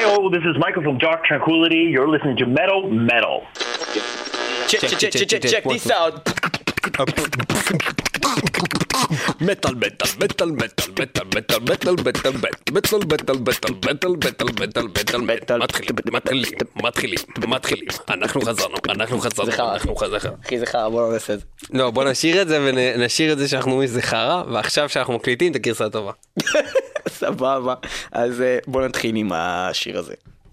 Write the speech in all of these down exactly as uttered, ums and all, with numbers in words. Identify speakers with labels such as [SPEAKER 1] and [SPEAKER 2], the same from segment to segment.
[SPEAKER 1] Yo, this is Michael from Dark Tranquility. You're listening to Metal Metal.
[SPEAKER 2] Check, check, check, check, check this out.
[SPEAKER 3] metal metal metal metal metal metal metal metal metal metal metal metal metal metal metal מתחילים מתחילים מתחילים מתחילים אנחנו חזרנו אנחנו חזרנו אנחנו חזרנו
[SPEAKER 2] אחי זה חרא, בוא נעשה את זה.
[SPEAKER 3] לא, בוא נשאיר את זה ונשאיר את זה שאנחנו אומרים שזה חרא, ועכשיו שאנחנו מקליטים את הגרסה הטובה.
[SPEAKER 2] סבבה, אז בוא נתחיל עם השיר הזה.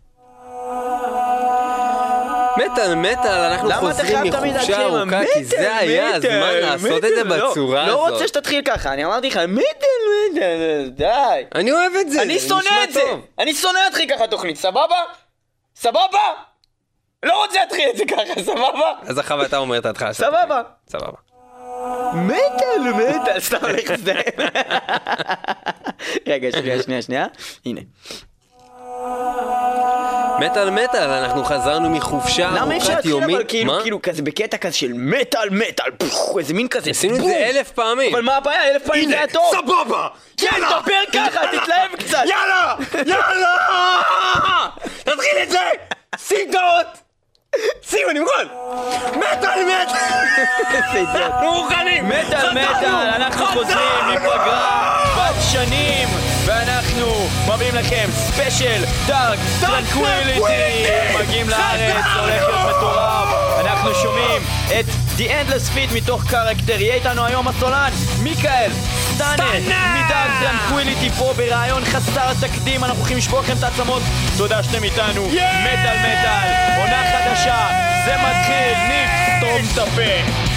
[SPEAKER 3] מטל, מטל, אנחנו חוזרים מחופשה ארוכה, כי זה היה הזמן לעשות את זה בצורה הזאת.
[SPEAKER 2] לא רוצה שתתחיל ככה, אני אמרתי לך, מטל, מטל, די.
[SPEAKER 3] אני אוהב את זה,
[SPEAKER 2] אני שונא את זה, אני שונא להתחיל ככה תוכנית, סבבה? סבבה? לא רוצה להתחיל את זה ככה, סבבה?
[SPEAKER 3] אז אחר ואתה אומר את ההתחלה.
[SPEAKER 2] סבבה.
[SPEAKER 3] סבבה.
[SPEAKER 2] מטל, מטל, סתם הולך את זה. רגע, שנייה, שנייה, שנייה, הנה.
[SPEAKER 3] מטל מטל, אנחנו חזרנו מחופשה ארוכת יומית.
[SPEAKER 2] כאילו, כאילו כזה בקטע כזה של מטל מטל, איזה מין כזה.
[SPEAKER 3] עשינו את זה אלף פעמים.
[SPEAKER 2] אבל מה הבעיה? אלף פעמים זה היה טוב.
[SPEAKER 3] סבבה!
[SPEAKER 2] יאללה! תדבר ככה, תתלהב קצת.
[SPEAKER 3] יאללה! יאללה! תתחיל את זה! שים דעות! שים, אני מוכן! מטל מטל! אנחנו מוכנים!
[SPEAKER 2] מטל מטל, אנחנו חוזרים מפגרה בת שנים, ואנחנו מביאים לכם ספיישל דארק טרנקוויליטי. מגיעים לארץ, הולך להיות מטורף. אנחנו שומעים את The Endless Feet מתוך קרקטר. יהיה איתנו היום הסולן מיקאל סטאנר מדארק טרנקוויליטי פה ברעיון חסר תקדים. אנחנו הולכים לשבור לכם את העצמות. תודה שאתם איתנו. מטל מטל, עונה חדשה, זה מתחיל. ניק, סתום את הפה.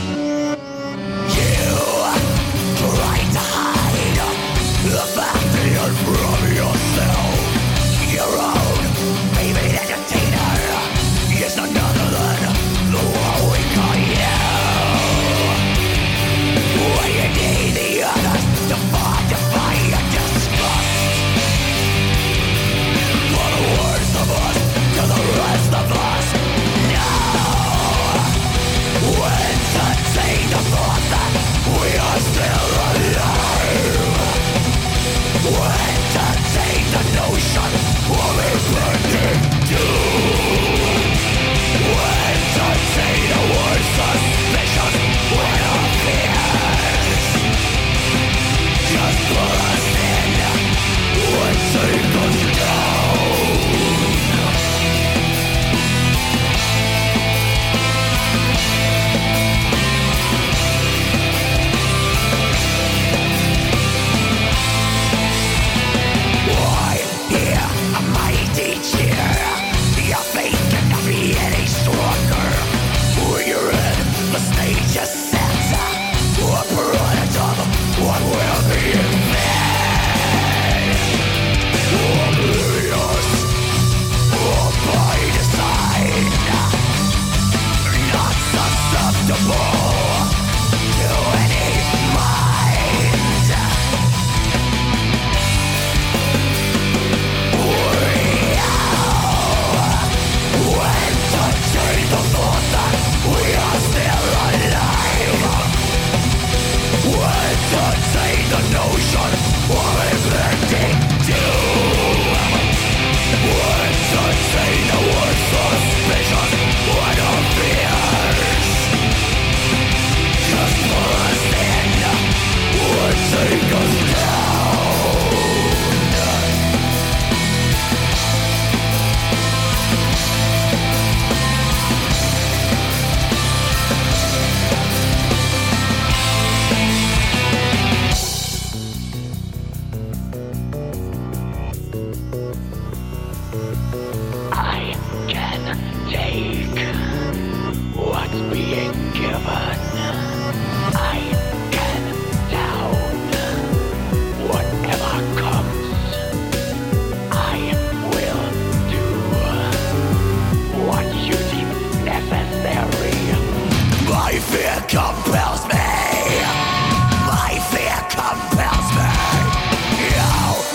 [SPEAKER 4] The fact that you're from yourself, your own favorite entertainer, is none other than the one we call you. When you need the others to fight, to fight and disgust, for the worst of us to the rest of us, no. When to take the thought that we are still alive. When to take the notion of impending doom. When to say the word suspicious when our fears just pull us in, would take us down.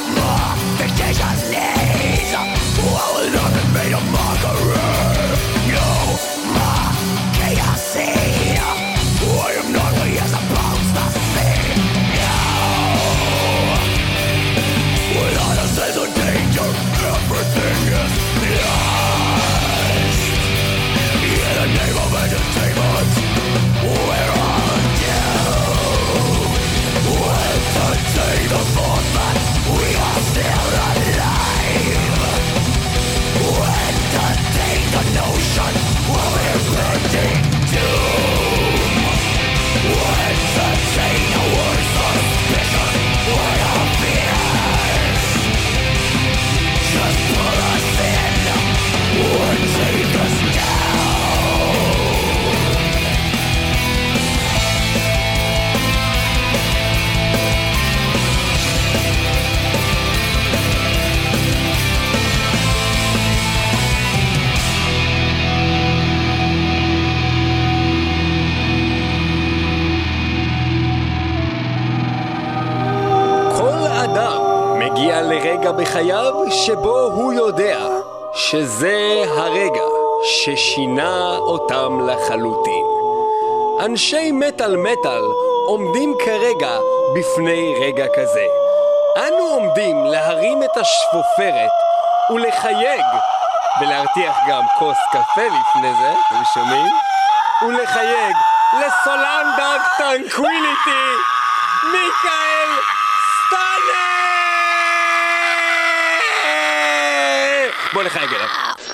[SPEAKER 4] Made a mockery.
[SPEAKER 3] בחייו שבו הוא יודע שזה הרגע ששינה אותם לחלוטין. אנשי מטל מטל עומדים כרגע בפני רגע כזה. אנו עומדים להרים את השפופרת ולחייג, ולהרתיח גם כוס קפה לפני זה, אתם שומעים? ולחייג לסולן דארק טרנקוויליטי, מיקאל סטאנה! בוא נחייג אליו.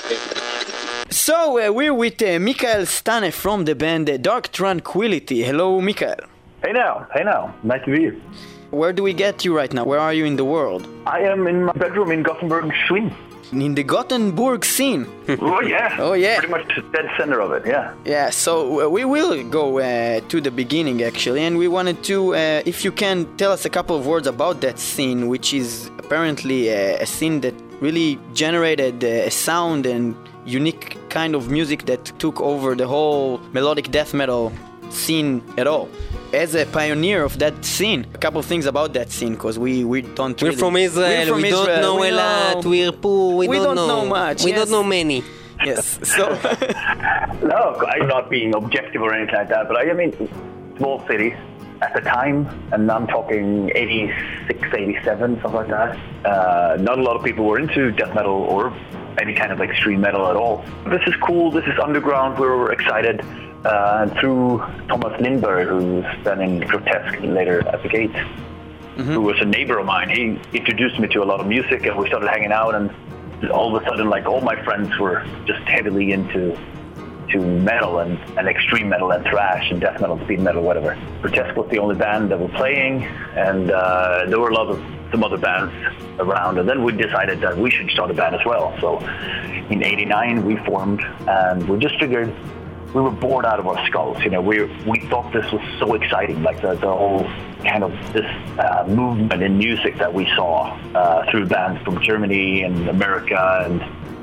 [SPEAKER 2] So uh, we're with uh, Mikael Stane from the band uh, Dark Tranquility. Hello, Mikael.
[SPEAKER 1] Hey now, hey now. Nice to be here.
[SPEAKER 2] Where do we get you right now? Where are you in the world?
[SPEAKER 1] I am in my bedroom in Gothenburg, Sweden.
[SPEAKER 2] In the Gothenburg scene.
[SPEAKER 1] Oh yeah.
[SPEAKER 2] Oh yeah.
[SPEAKER 1] Pretty much dead center of it, yeah.
[SPEAKER 2] Yeah, so uh, we will go uh, to the beginning actually, and we wanted to, uh, if you can tell us a couple of words about that scene, which is apparently uh, a scene that really generated uh, a sound and unique kind of music that took over the whole melodic death metal scene at all. As a pioneer of that scene, a couple of things about that scene, because we, we don't
[SPEAKER 3] We're
[SPEAKER 2] really...
[SPEAKER 3] from Israel,
[SPEAKER 2] We're from
[SPEAKER 3] we
[SPEAKER 2] Israel.
[SPEAKER 3] don't know
[SPEAKER 2] we
[SPEAKER 3] a lot,
[SPEAKER 2] know...
[SPEAKER 3] we're poor, we,
[SPEAKER 2] We
[SPEAKER 3] don't,
[SPEAKER 2] don't know much,
[SPEAKER 3] We
[SPEAKER 2] yes.
[SPEAKER 3] don't know many.
[SPEAKER 2] Yes, so...
[SPEAKER 1] No, I'm not being objective or anything like that, but I, I mean, small cities at the time, and I'm talking eighty-six, eighty-seven, something like that. Uh, not a lot of people were into death metal or any kind of extreme metal at all. This is cool, this is underground, we were excited. Uh, and through Thomas Lindberg, who's then in Grotesque later at the Gates, mm-hmm. who was a neighbor of mine, he introduced me to a lot of music, and we started hanging out, and all of a sudden, like, all my friends were just heavily into to metal and, and extreme metal and thrash and death metal, speed metal, whatever. Grotesque was the only band that were playing, and uh, there were a lot of some other bands around, and then we decided that we should start a band as well. So in eighty-nine we formed, and we just figured we were bored out of our skulls. You know, we we thought this was so exciting, like the, the whole kind of this uh, movement in music that we saw uh, through bands from Germany and America and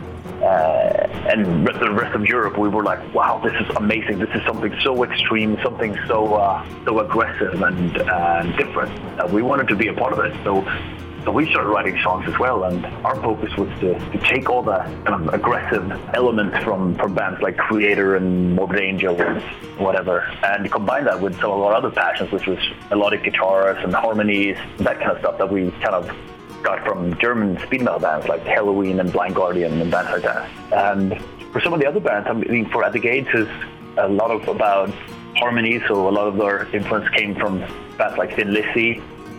[SPEAKER 1] uh, and the rest of Europe. We were like, wow, this is amazing. This is something so extreme, something so uh, so aggressive and uh, different. Uh, we wanted to be a part of it. So. So we started writing songs as well, and our focus was to, to take all the kind of aggressive elements from, from bands like Creator and Morbid Angel and whatever, and combine that with some of our other passions, which was melodic guitars and harmonies, that kind of stuff that we kind of got from German speed metal bands like Halloween and Blind Guardian and bands like that. And for some of the other bands, I mean, for At the Gates is a lot of about harmony, so a lot of their influence came from bands like Thin Lizzy,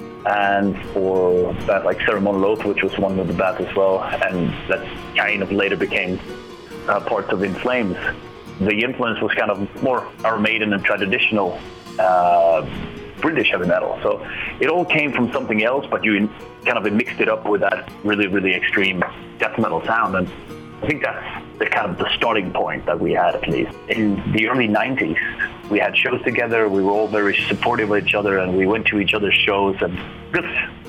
[SPEAKER 1] and for bands like Ceremonial Oath, which was one of the bands as well, and that kind of later became uh, parts of In Flames. The influence was kind of more Iron Maiden and traditional uh, British heavy metal. So it all came from something else, but you kind of mixed it up with that really, really extreme death metal sound. And I think that's the kind of the starting point that we had, at least. In the early nineties, we had shows together, we were all very supportive of each other, and we went to each other's shows, and just,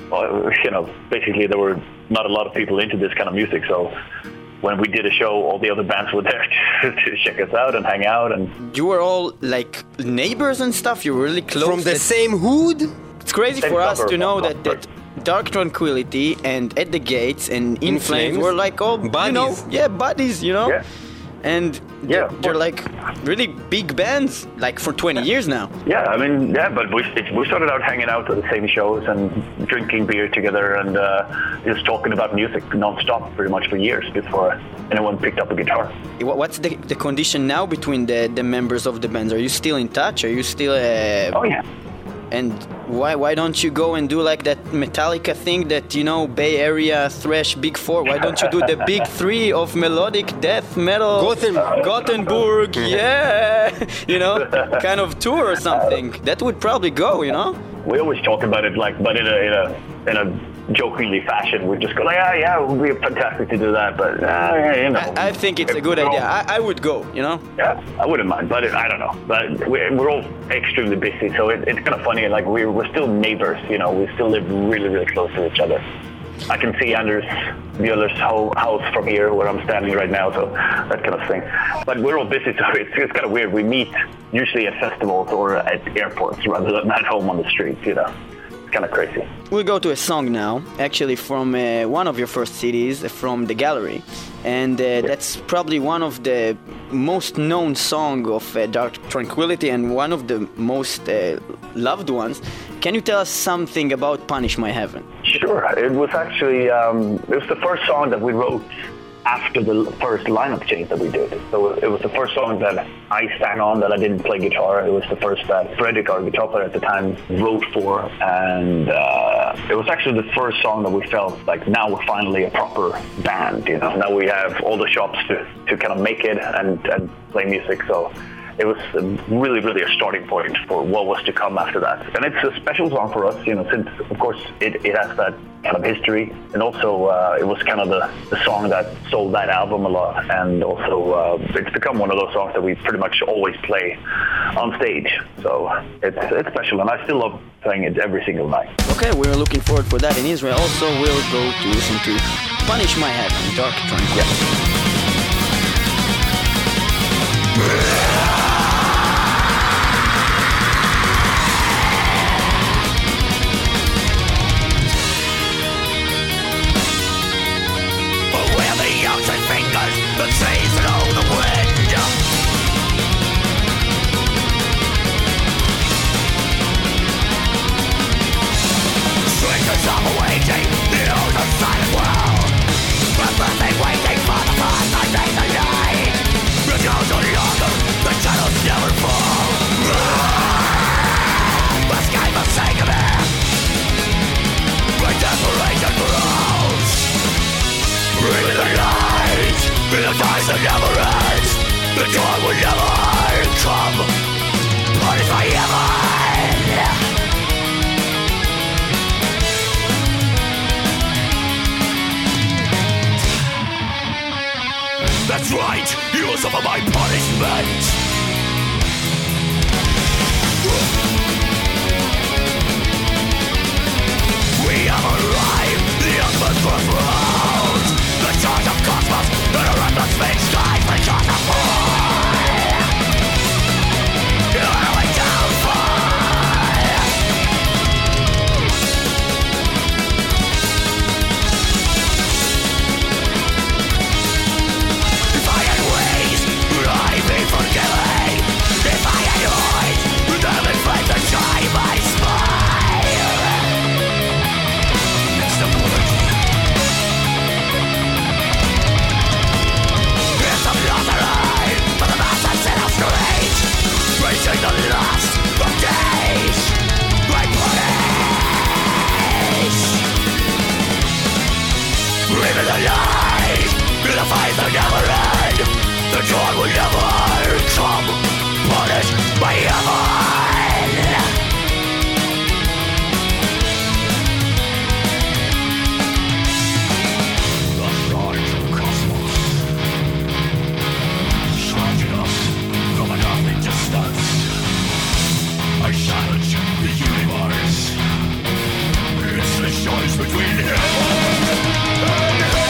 [SPEAKER 1] you know, basically there were not a lot of people into this kind of music, so when we did a show, all the other bands were there to, to check us out and hang out. And
[SPEAKER 2] you were all like neighbors and stuff, you were really close.
[SPEAKER 3] From the same hood?
[SPEAKER 2] It's crazy
[SPEAKER 1] Same
[SPEAKER 2] for us
[SPEAKER 1] suburb,
[SPEAKER 2] to know
[SPEAKER 1] suburb.
[SPEAKER 2] that, that Dark Tranquility and At the Gates and In,
[SPEAKER 3] In
[SPEAKER 2] Flames,
[SPEAKER 3] Flames
[SPEAKER 2] were like all,
[SPEAKER 3] buddies.
[SPEAKER 2] you know, yeah, buddies, you know?
[SPEAKER 1] Yeah.
[SPEAKER 2] And
[SPEAKER 1] Yeah,
[SPEAKER 2] they're, they're like really big bands, like for twenty years now.
[SPEAKER 1] yeah, I mean, yeah, but we, it, we started out hanging out at the same shows and drinking beer together and uh, just talking about music non-stop pretty much for years before anyone picked up a guitar.
[SPEAKER 2] What- What's the, the condition now between the, the members of the bands? Are you still in touch? Are you still... Uh,
[SPEAKER 1] Oh, yeah.
[SPEAKER 2] And why why don't you go and do like that Metallica thing that, you know, Bay Area thrash Big Four? Why don't you do the Big Three of melodic death metal?
[SPEAKER 3] Gothenburg.
[SPEAKER 2] Gothenburg, yeah, you know, kind of tour or something. That would probably go, you know.
[SPEAKER 1] We always talk about it like, but in a in a in a jokingly fashion. We just go like, ah, yeah, it would be fantastic to do that, but uh, yeah, you know.
[SPEAKER 2] I, I think it's a good idea. I, I would go, you know.
[SPEAKER 1] Yeah, I wouldn't mind, but it, I don't know. But we're, we're all extremely busy, so it, it's kind of funny. Like we're we're still neighbors, you know. We still live really really close to each other. I can see Anders Mueller's whole house from here where I'm standing right now, so that kind of thing. But we're all busy, so it's, it's kind of weird. We meet usually at festivals or at airports rather than at home on the streets, you know. It's kind of crazy.
[SPEAKER 2] We'll go to a song now, actually from uh, one of your first C Ds, uh, from The Gallery. And uh, yeah. that's probably one of the most known song of uh, Dark Tranquillity and one of the most uh, loved ones. Can you tell us something about Punish My Heaven?
[SPEAKER 1] Sure. It was actually, um, it was the first song that we wrote after the first lineup change that we did. So it was the first song that I sang on that I didn't play guitar. It was the first that Fredrik, our guitar player at the time, wrote for. And uh, it was actually the first song that we felt like now we're finally a proper band, you know. Now we have all the shops to, to kind of make it and, and play music. So it was really, really a starting point for what was to come after that. And it's a special song for us, you know, since, of course, it, it has that kind of history. And also, uh, it was kind of the, the song that sold that album a lot. And also, uh, it's become one of those songs that we pretty much always play on stage. So it's, it's special, and I still love playing it every single night.
[SPEAKER 2] Okay, we're looking forward for that in Israel. Also, we'll go to listen to Punish My Heaven, Dark Tranquillity.
[SPEAKER 4] Yeah. The trees and all the wind. Strangers are awaiting the old and silent world. Breathlessly waiting for the first night in the night. The goes on longer, the shadows never fall. The sky must sing of it. My desperation grows. Breathe the light. In the times that never ends, the dawn will never come. Punish my heaven. That's right, you will suffer my punishment. We have arrived, the ultimate crossroads. The charge of cosmos, and a reckless fate skies because of war. You're only downfall. If I had ways, would I be forgiven? If I had eyes, would I have flames that shine my smile? It's the word. Racing the last of days, I punish. Live in the light, in the fight that never end. The dawn will never come. Punish my heaven. The charge of cosmos, shrouding us from an earthly distance. I challenge the universe. It's the choice between heaven and hell.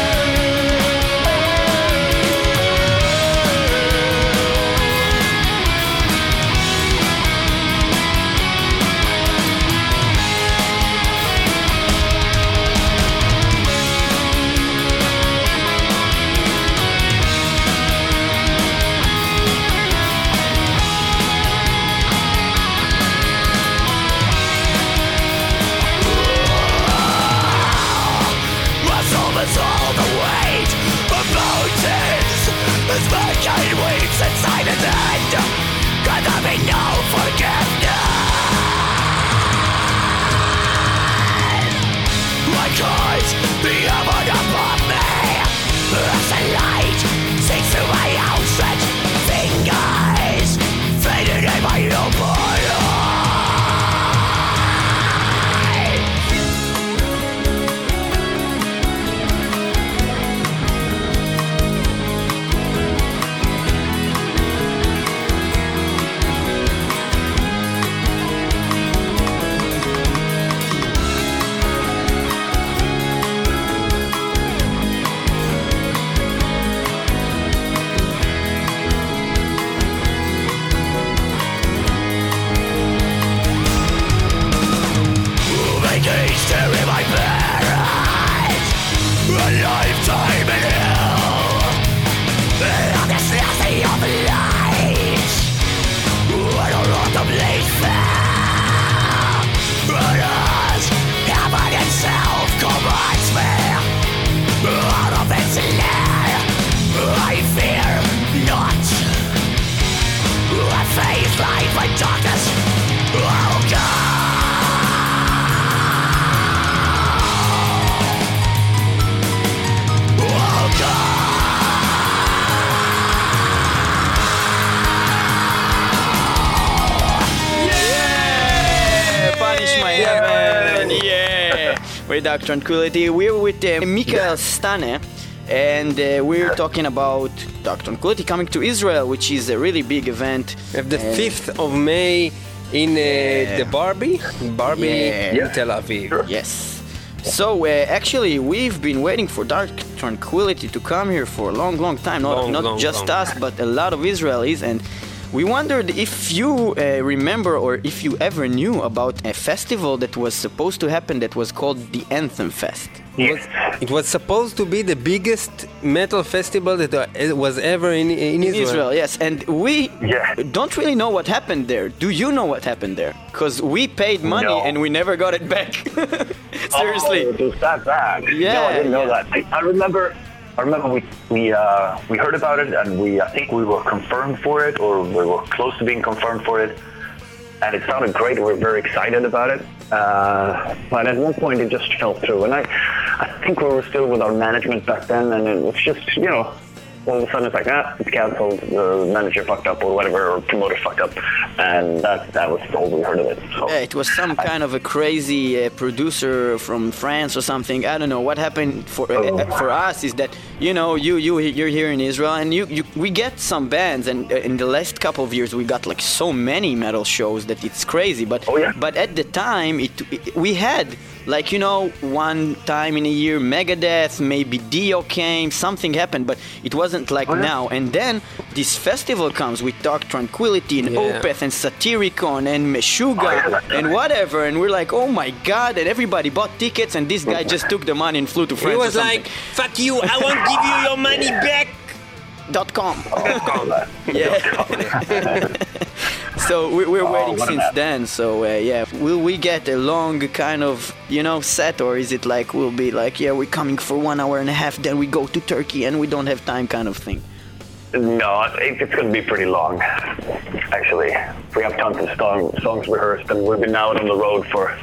[SPEAKER 4] All the weight of mountains as mankind weeps inside its end. Can there be no forgiveness? I cause the heaven above me as the light sinks through my outstretched fingers, fading in my open eyes.
[SPEAKER 2] with Dark Tranquility. We're with uh, Michael Stane, and uh, we're talking about Dark Tranquility coming to Israel, which is a really big event.
[SPEAKER 3] We have the
[SPEAKER 2] And-
[SPEAKER 3] fifth of May in uh,
[SPEAKER 2] Yeah.
[SPEAKER 3] the Barbie, Barbie
[SPEAKER 2] Yeah.
[SPEAKER 3] in Tel Aviv.
[SPEAKER 2] Yes. So uh, actually, we've been waiting for Dark Tranquility to come here for a long, long time. Not,
[SPEAKER 3] Long,
[SPEAKER 2] not
[SPEAKER 3] long,
[SPEAKER 2] just
[SPEAKER 3] long.
[SPEAKER 2] us, but a lot of Israelis. And we wondered if you uh, remember or if you ever knew about a festival that was supposed to happen that was called the Anthem Fest.
[SPEAKER 1] Yes.
[SPEAKER 3] It was supposed to be the biggest metal festival that uh, was ever in, in
[SPEAKER 2] In
[SPEAKER 3] Israel.
[SPEAKER 2] Israel, yes. And we
[SPEAKER 1] Yeah.
[SPEAKER 2] don't really know what happened there. Do you know what happened there? Because we paid money
[SPEAKER 1] No.
[SPEAKER 2] and we never got it back. Seriously.
[SPEAKER 1] Oh, it was that bad.
[SPEAKER 2] Yeah,
[SPEAKER 1] No, I didn't know
[SPEAKER 2] yeah.
[SPEAKER 1] that. I, I remember. I remember we we uh, we heard about it, and we I think we were confirmed for it, or we were close to being confirmed for it, and it sounded great. We were very excited about it, uh, but at one point it just fell through, and I I think we were still with our management back then, and it was just you know. All of a sudden it's like, ah, it's cancelled, the manager fucked up or whatever, or promoter fucked up. And that that was all we heard of it. So
[SPEAKER 2] Yeah, it was some kind of a crazy uh, producer from France or something. I don't know what happened for uh,
[SPEAKER 1] Oh.
[SPEAKER 2] for us is that you know you you you're here in Israel and you, you we get some bands, and uh, in the last couple of years we got like so many metal shows that it's crazy. But
[SPEAKER 1] Oh, yeah.
[SPEAKER 2] but at the time it, it we had like you know one time in a year Megadeth, maybe Dio came, something happened, but it wasn't like
[SPEAKER 1] Oh, yeah.
[SPEAKER 2] now. And then this festival comes with Dark Tranquility and
[SPEAKER 3] Yeah.
[SPEAKER 2] Opeth and Satyricon and Meshuggah
[SPEAKER 1] Oh, yeah, that's
[SPEAKER 2] and
[SPEAKER 1] right.
[SPEAKER 2] whatever, and we're like, oh my god, and everybody bought tickets, and this guy just took the money and flew to
[SPEAKER 3] He
[SPEAKER 2] France.
[SPEAKER 3] was
[SPEAKER 2] or
[SPEAKER 3] like, fuck you, I won't give you your money back.
[SPEAKER 2] dot com.
[SPEAKER 1] all that.
[SPEAKER 2] Yeah. So we, we're
[SPEAKER 1] Oh,
[SPEAKER 2] waiting
[SPEAKER 1] what an
[SPEAKER 2] since
[SPEAKER 1] app.
[SPEAKER 2] then. So uh, yeah, will we get a long kind of you know set, or is it like we'll be like, yeah, we're coming for one hour and a half, then we go to Turkey and we don't have time kind of thing?
[SPEAKER 1] No, it, it's going to be pretty long, actually. We have tons of song, songs rehearsed, and we've been out on the road for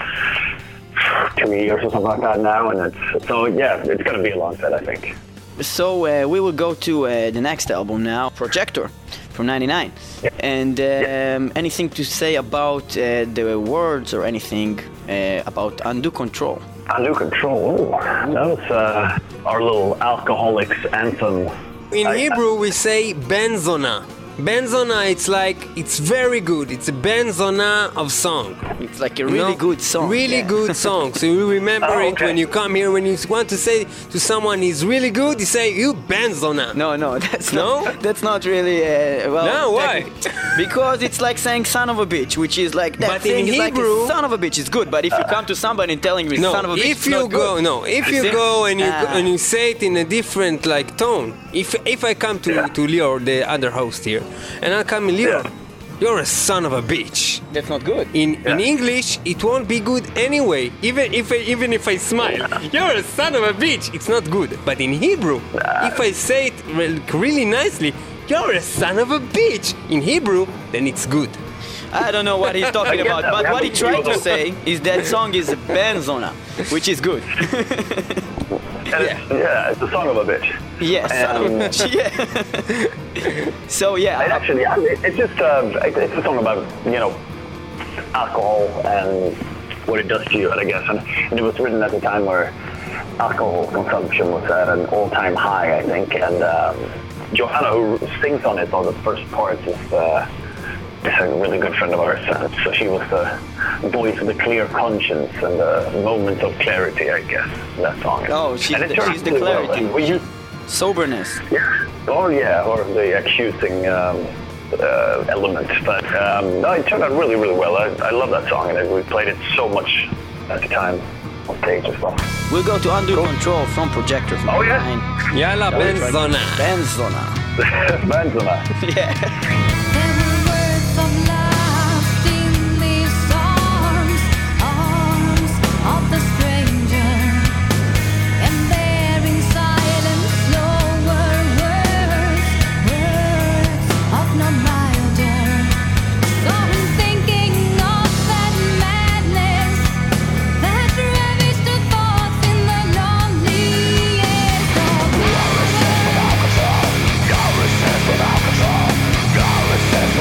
[SPEAKER 1] two years or something like that now, and it's so yeah, it's going to be a long set, I think.
[SPEAKER 2] So uh, we will go to uh, the next album now, Projector, from ninety-nine.
[SPEAKER 1] Yeah.
[SPEAKER 2] And um,
[SPEAKER 1] Yeah.
[SPEAKER 2] anything to say about uh, the words or anything uh, about Undo Control?
[SPEAKER 1] Undo Control, oh, that was uh, our little alcoholics anthem.
[SPEAKER 3] In
[SPEAKER 1] I-
[SPEAKER 3] Hebrew, we say benzona. Benzona, it's like, it's very good. It's a benzona of song.
[SPEAKER 2] It's like a
[SPEAKER 3] You
[SPEAKER 2] really
[SPEAKER 3] know?
[SPEAKER 2] good song.
[SPEAKER 3] Really
[SPEAKER 2] yeah.
[SPEAKER 3] good song. So you remember
[SPEAKER 1] Oh,
[SPEAKER 3] it
[SPEAKER 1] okay.
[SPEAKER 3] when you come here. When you want to say to someone he's really good, you say, you benzona.
[SPEAKER 2] No, no, that's
[SPEAKER 3] No?
[SPEAKER 2] not. That's not really. Uh, well,
[SPEAKER 3] No, why?
[SPEAKER 2] techni- Because it's like saying "son of a bitch," which is like that
[SPEAKER 3] But
[SPEAKER 2] thing
[SPEAKER 3] in
[SPEAKER 2] is like
[SPEAKER 3] Hebrew-
[SPEAKER 2] a son of a bitch is good. But if you come to somebody and telling me
[SPEAKER 3] No,
[SPEAKER 2] "son of a bitch,"
[SPEAKER 3] if
[SPEAKER 2] it's
[SPEAKER 3] you
[SPEAKER 2] not
[SPEAKER 3] go,
[SPEAKER 2] good.
[SPEAKER 3] no, if
[SPEAKER 2] You
[SPEAKER 3] you
[SPEAKER 2] see?
[SPEAKER 3] go and you
[SPEAKER 2] Ah.
[SPEAKER 3] and you say it in a different like tone. If if I come to to Lior, the other host here, and I come, Lior,
[SPEAKER 1] Yeah.
[SPEAKER 3] you're a son of a bitch.
[SPEAKER 2] That's not good.
[SPEAKER 3] In in
[SPEAKER 1] Yeah.
[SPEAKER 3] English, it won't be good anyway. Even if I, even if I smile, you're a son of a bitch. It's not good. But in Hebrew, if I say it re- really nicely, you're a son of a bitch. In Hebrew, then it's good.
[SPEAKER 2] I don't know what he's talking
[SPEAKER 1] I get
[SPEAKER 2] about,
[SPEAKER 1] that.
[SPEAKER 2] but
[SPEAKER 1] We
[SPEAKER 2] what he
[SPEAKER 1] have to
[SPEAKER 2] tried to
[SPEAKER 1] feel
[SPEAKER 2] say is that song is a benzona, which is good.
[SPEAKER 1] And it's, yeah, it's a song of a bitch.
[SPEAKER 2] Yes, son of a
[SPEAKER 1] Um,
[SPEAKER 2] bitch. Yeah. So
[SPEAKER 1] It
[SPEAKER 2] yeah,
[SPEAKER 1] actually, I mean, it's just uh, it- it's a song about you know alcohol and what it does to you, I guess. And, and it was written at a time where alcohol consumption was at an all-time high, I think. And um, Johanna, who sings on it, on the first part, is, uh, is a really good friend of ours. And so she was the voice of the clear conscience and the moment of clarity, I guess. That song.
[SPEAKER 2] Oh, she's
[SPEAKER 1] And it
[SPEAKER 2] the-
[SPEAKER 1] turned
[SPEAKER 2] she's the
[SPEAKER 1] out really well.
[SPEAKER 2] clarity.
[SPEAKER 1] And we used,
[SPEAKER 2] soberness.
[SPEAKER 1] yeah. Oh, yeah, or the accusing um, uh, element. But um, no, it turned out really, really well. I, I love that song, and we played it so much at the time on stage as well.
[SPEAKER 2] We'll go to Undo Control from Projector from
[SPEAKER 1] Oh, yeah.
[SPEAKER 2] ninety-nine.
[SPEAKER 3] Yalla benzona.
[SPEAKER 2] Benzona.
[SPEAKER 1] Benzema.
[SPEAKER 2] Yeah.
[SPEAKER 5] There were words of love in these arms, arms of the stranger, and there in silence lower words, words of no milder. So I'm thinking of that madness that ravished the thoughts in the lonely years of power.
[SPEAKER 4] Go resist without control. Go resist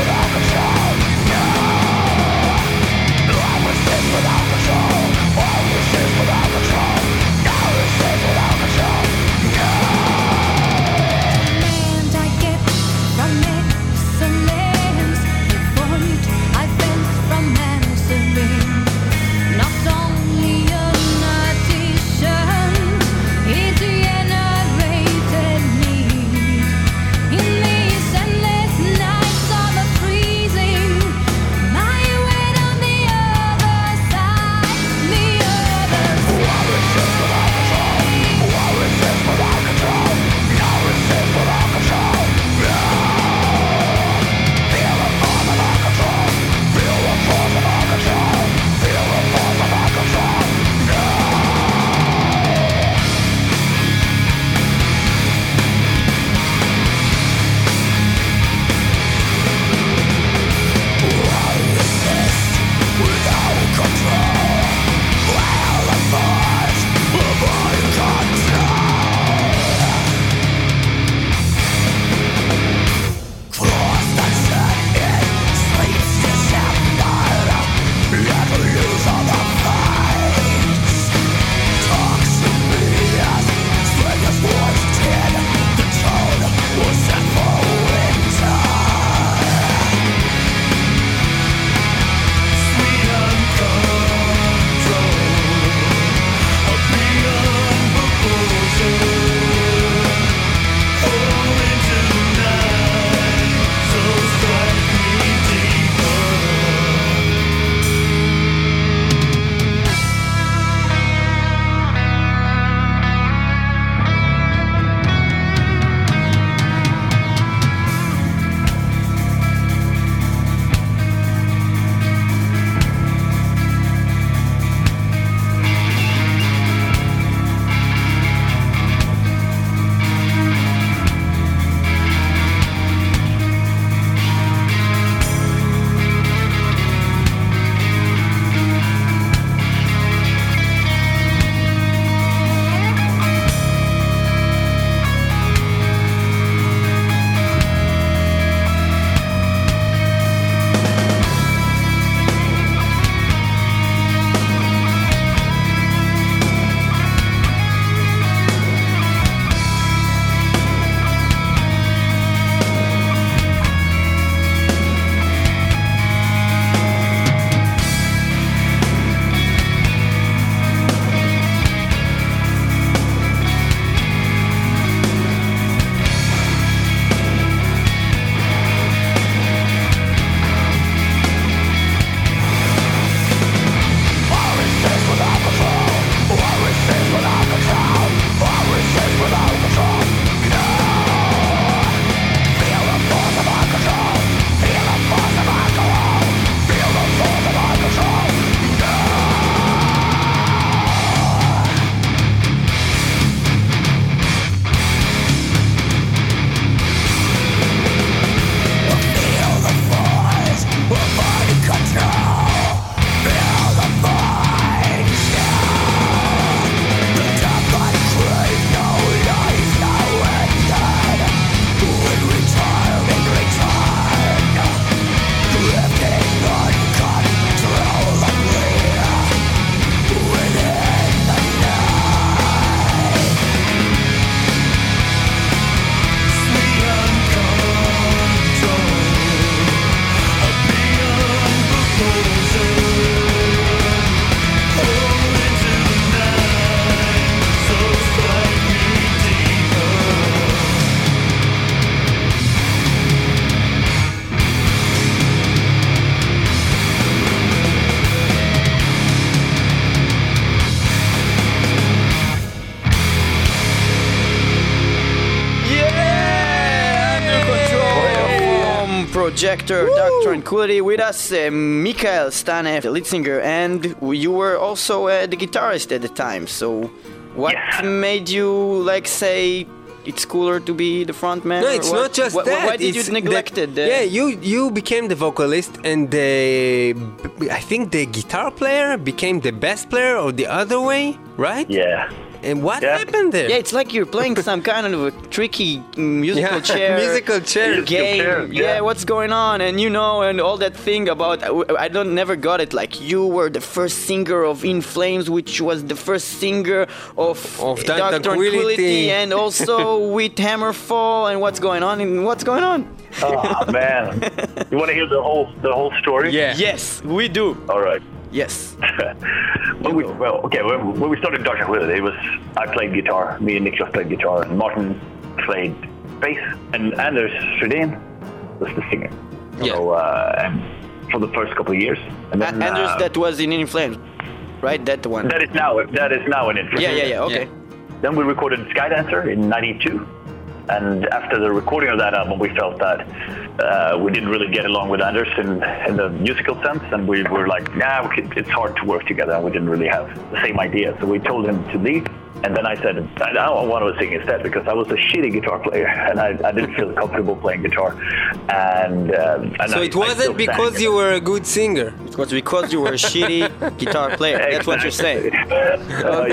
[SPEAKER 2] Projector, Dark Tranquility. With us, uh, Mikael Stanev, the lead singer, and you were also uh, the guitarist at the time. So, what
[SPEAKER 3] Yeah.
[SPEAKER 2] made you like say it's cooler to be the front man?
[SPEAKER 6] No,
[SPEAKER 2] or
[SPEAKER 6] it's
[SPEAKER 2] what?
[SPEAKER 6] not just
[SPEAKER 2] Wh-
[SPEAKER 6] that.
[SPEAKER 2] Why did
[SPEAKER 6] it's
[SPEAKER 2] you neglect
[SPEAKER 6] the,
[SPEAKER 2] it? uh,
[SPEAKER 6] Yeah, you you became the vocalist, and the I think the guitar player became the bass player, or the other way, right?
[SPEAKER 1] Yeah.
[SPEAKER 6] And what
[SPEAKER 1] Yeah.
[SPEAKER 6] happened there?
[SPEAKER 2] Yeah, it's like you're playing some kind of a tricky musical
[SPEAKER 6] Yeah,
[SPEAKER 2] chair
[SPEAKER 6] musical chair.
[SPEAKER 2] game.
[SPEAKER 1] chair,
[SPEAKER 2] yeah.
[SPEAKER 1] yeah.
[SPEAKER 2] what's going on? And you know, and all that thing about I don't never got it. Like you were the first singer of In Flames, which was the first singer of,
[SPEAKER 6] Of Dark
[SPEAKER 2] Dark
[SPEAKER 6] Tranquility.
[SPEAKER 2] Tranquility, and also with Hammerfall. And what's going on? And what's going on?
[SPEAKER 1] Oh man. You want to hear the whole the whole story?
[SPEAKER 6] Yeah.
[SPEAKER 2] Yes, we do.
[SPEAKER 1] All right.
[SPEAKER 2] Yes.
[SPEAKER 1] when we, well, okay, when, when we started Dark Tranquility, it was I played guitar, me and Niklas played guitar, and Martin played bass, and Anders Fredén was the singer.
[SPEAKER 2] Yeah.
[SPEAKER 1] So, uh, and for the first couple of years, and
[SPEAKER 2] A-
[SPEAKER 1] then
[SPEAKER 2] Anders,
[SPEAKER 1] uh,
[SPEAKER 2] that was in In Flames, right? That one.
[SPEAKER 1] that is now that is now an interest.
[SPEAKER 2] yeah, yeah, yeah. Okay.
[SPEAKER 1] Then we recorded Skydancer in ninety-two. And after the recording of that album, we felt that uh, we didn't really get along with Anders in, in the musical sense. And we were like, nah, we could, it's hard to work together. And we didn't really have the same idea. So we told him to leave. And then I said, I don't want to sing instead because I was a shitty guitar player. And I, I didn't feel comfortable playing guitar. And, um, and
[SPEAKER 6] So
[SPEAKER 1] I,
[SPEAKER 6] it
[SPEAKER 1] I
[SPEAKER 6] wasn't
[SPEAKER 1] still
[SPEAKER 6] because
[SPEAKER 1] sang.
[SPEAKER 6] you were a good singer.
[SPEAKER 2] It was because you were a shitty guitar player. That's what you're saying.
[SPEAKER 1] Oh,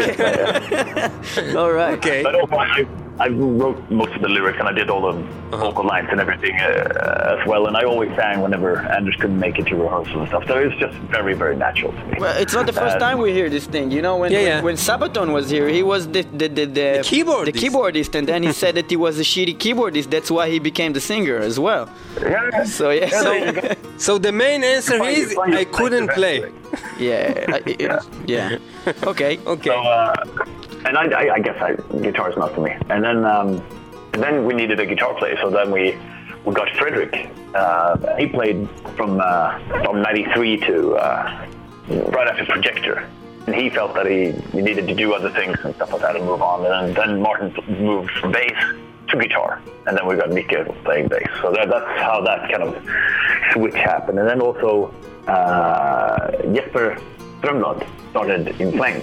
[SPEAKER 1] yeah.
[SPEAKER 2] All right.
[SPEAKER 6] Okay.
[SPEAKER 1] But also, I, I wrote most of the lyrics and I did all the
[SPEAKER 6] Uh-huh.
[SPEAKER 1] vocal lines and everything uh, as well. And I always sang whenever Anders couldn't make it to rehearsal and stuff. So it was just very, very natural to me.
[SPEAKER 2] Well, it's not the first
[SPEAKER 1] Uh,
[SPEAKER 2] time we hear this thing. You know, when
[SPEAKER 6] Yeah,
[SPEAKER 2] when,
[SPEAKER 6] yeah.
[SPEAKER 2] when Sabaton was here, he was the the the, the,
[SPEAKER 6] keyboardist.
[SPEAKER 2] the keyboardist, and then he said that he was a shitty keyboardist. That's why he became the singer as well.
[SPEAKER 1] Yeah.
[SPEAKER 2] So yeah,
[SPEAKER 1] Yeah,
[SPEAKER 2] so,
[SPEAKER 1] there you go.
[SPEAKER 6] So the main answer
[SPEAKER 1] Find-
[SPEAKER 6] is
[SPEAKER 1] find your
[SPEAKER 6] I couldn't
[SPEAKER 1] place
[SPEAKER 6] play.
[SPEAKER 1] eventually.
[SPEAKER 2] yeah, I- it- yeah. Okay.
[SPEAKER 6] Okay.
[SPEAKER 1] So, uh, and I, I, I guess I, guitar is not for me. And then, um, and then we needed a guitar player. So then we, we got Frederick. Uh, he played from uh, from ninety-three to uh, right after Projector. And he felt that he, he needed to do other things and stuff like that and move on. And then, then Martin moved from bass to guitar. And then we got Mikael playing bass. So that, that's how that kind of switch happened. And then also uh, Jesper Strömblad started In Flames.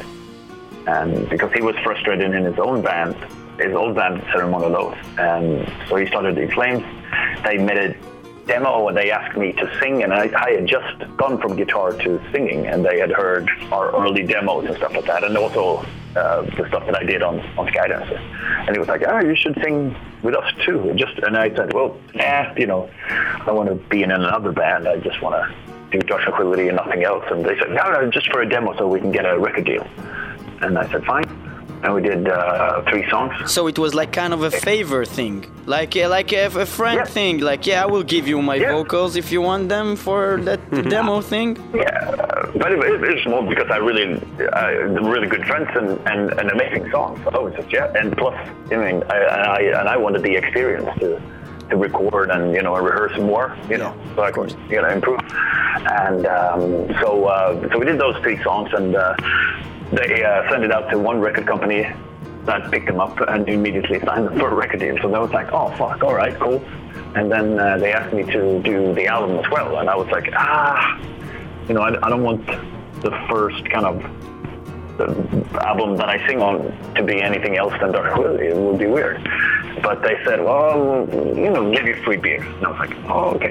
[SPEAKER 1] And because he was frustrated in his own band, his old band, Ceremonial Oath. And so he started In Flames. They made a demo and they asked me to sing, and I, I had just gone from guitar to singing, and they had heard our early demos and stuff like that, and also uh, the stuff that I did on, on Skydancer. And he was like, oh, you should sing with us too. And just and I said, well, nah, you know, I want to be in another band. I just want to do Dark Tranquility and nothing else. And they said, no, no, just for a demo so we can get a record deal. And I said, fine. And we did uh, three songs.
[SPEAKER 2] So it was like kind of a favor thing, like uh, like a, a friend
[SPEAKER 1] Yeah.
[SPEAKER 2] thing. Like, yeah, I will give you my
[SPEAKER 1] Yeah.
[SPEAKER 2] vocals if you want them for that demo thing.
[SPEAKER 1] Yeah, uh, but it, it, it's more because I really, uh, really good friends and, and, and amazing songs. So I was just, yeah, and plus, I mean, I, and I and I wanted the experience to to record and you know rehearse more, you know, so I could you know improve. And um, so uh, so we did those three songs, and uh, they uh, sent it out to one record company that picked them up and immediately signed them for a record deal. So they was like, oh fuck, all right, cool. And then uh, they asked me to do the album as well, and I was like, ah, you know, I, I don't want the first kind of the album that I sing on to be anything else than Dark Tranquility. It would be weird. But they said, well, you know, give you free beer. And I was like, oh, okay.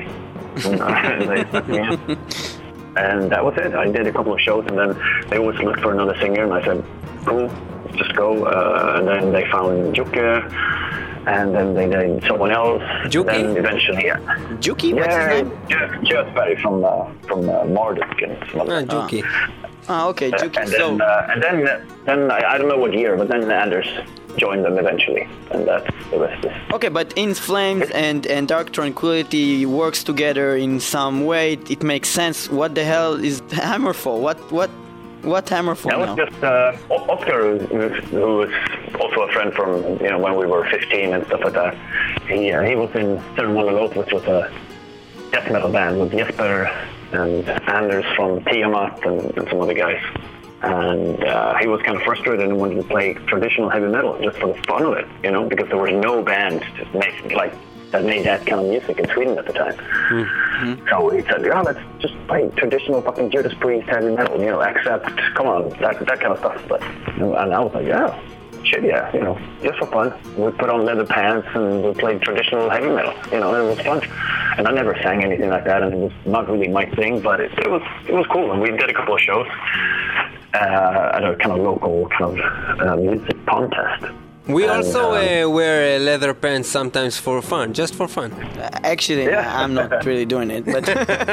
[SPEAKER 1] And they let me in. And that was it. I did a couple of shows, and then they always looked for another singer, and I said, cool, just go. Uh, and then they found Jukka, and then they did someone else.
[SPEAKER 6] Jukki?
[SPEAKER 1] Then eventually, yeah.
[SPEAKER 2] Juki, what's his
[SPEAKER 1] Yeah,
[SPEAKER 2] name?
[SPEAKER 1] Jeff, Jeff Berry from, uh, from uh, Marduk and some other
[SPEAKER 6] Ah, Juki.
[SPEAKER 2] Ah, okay, Juki.
[SPEAKER 1] and
[SPEAKER 2] So
[SPEAKER 1] then, uh, and then, then I, I don't know what year, but then Anders joined them eventually, and that's the rest is.
[SPEAKER 2] okay, but In Flames and and Dark Tranquility works together in some way. It, it makes sense. What the hell is Hammerfall? What what what Hammerfall
[SPEAKER 1] That was
[SPEAKER 2] now?
[SPEAKER 1] just uh, O- Oscar, who, who was also a friend from you know when we were fifteen and stuff like that. He uh, he was in Ceremonial Oath, which was a death metal band with Jesper and Anders from Tiamat and, and some other guys. And uh, he was kind of frustrated and wanted to play traditional heavy metal just for the fun of it, you know, because there was no band to make like that made that kind of music in Sweden at the time. Mm-hmm. So he said, "Yeah, let's just play traditional fucking Judas Priest heavy metal, you know, Accept, come on, that that kind of stuff." But and I was like, "Yeah, shit, yeah, you know, just for fun." We put on leather pants and we played traditional heavy metal, you know, and it was fun. And I never sang anything like that, and it was not really my thing, but it, it was it was cool. And we did a couple of shows uh, at a kind of local kind of uh, music contest.
[SPEAKER 6] We
[SPEAKER 1] And,
[SPEAKER 6] also
[SPEAKER 1] um,
[SPEAKER 6] uh, wear uh, leather pants sometimes for fun, just for fun.
[SPEAKER 2] Actually,
[SPEAKER 1] Yeah.
[SPEAKER 2] I'm not really doing it, but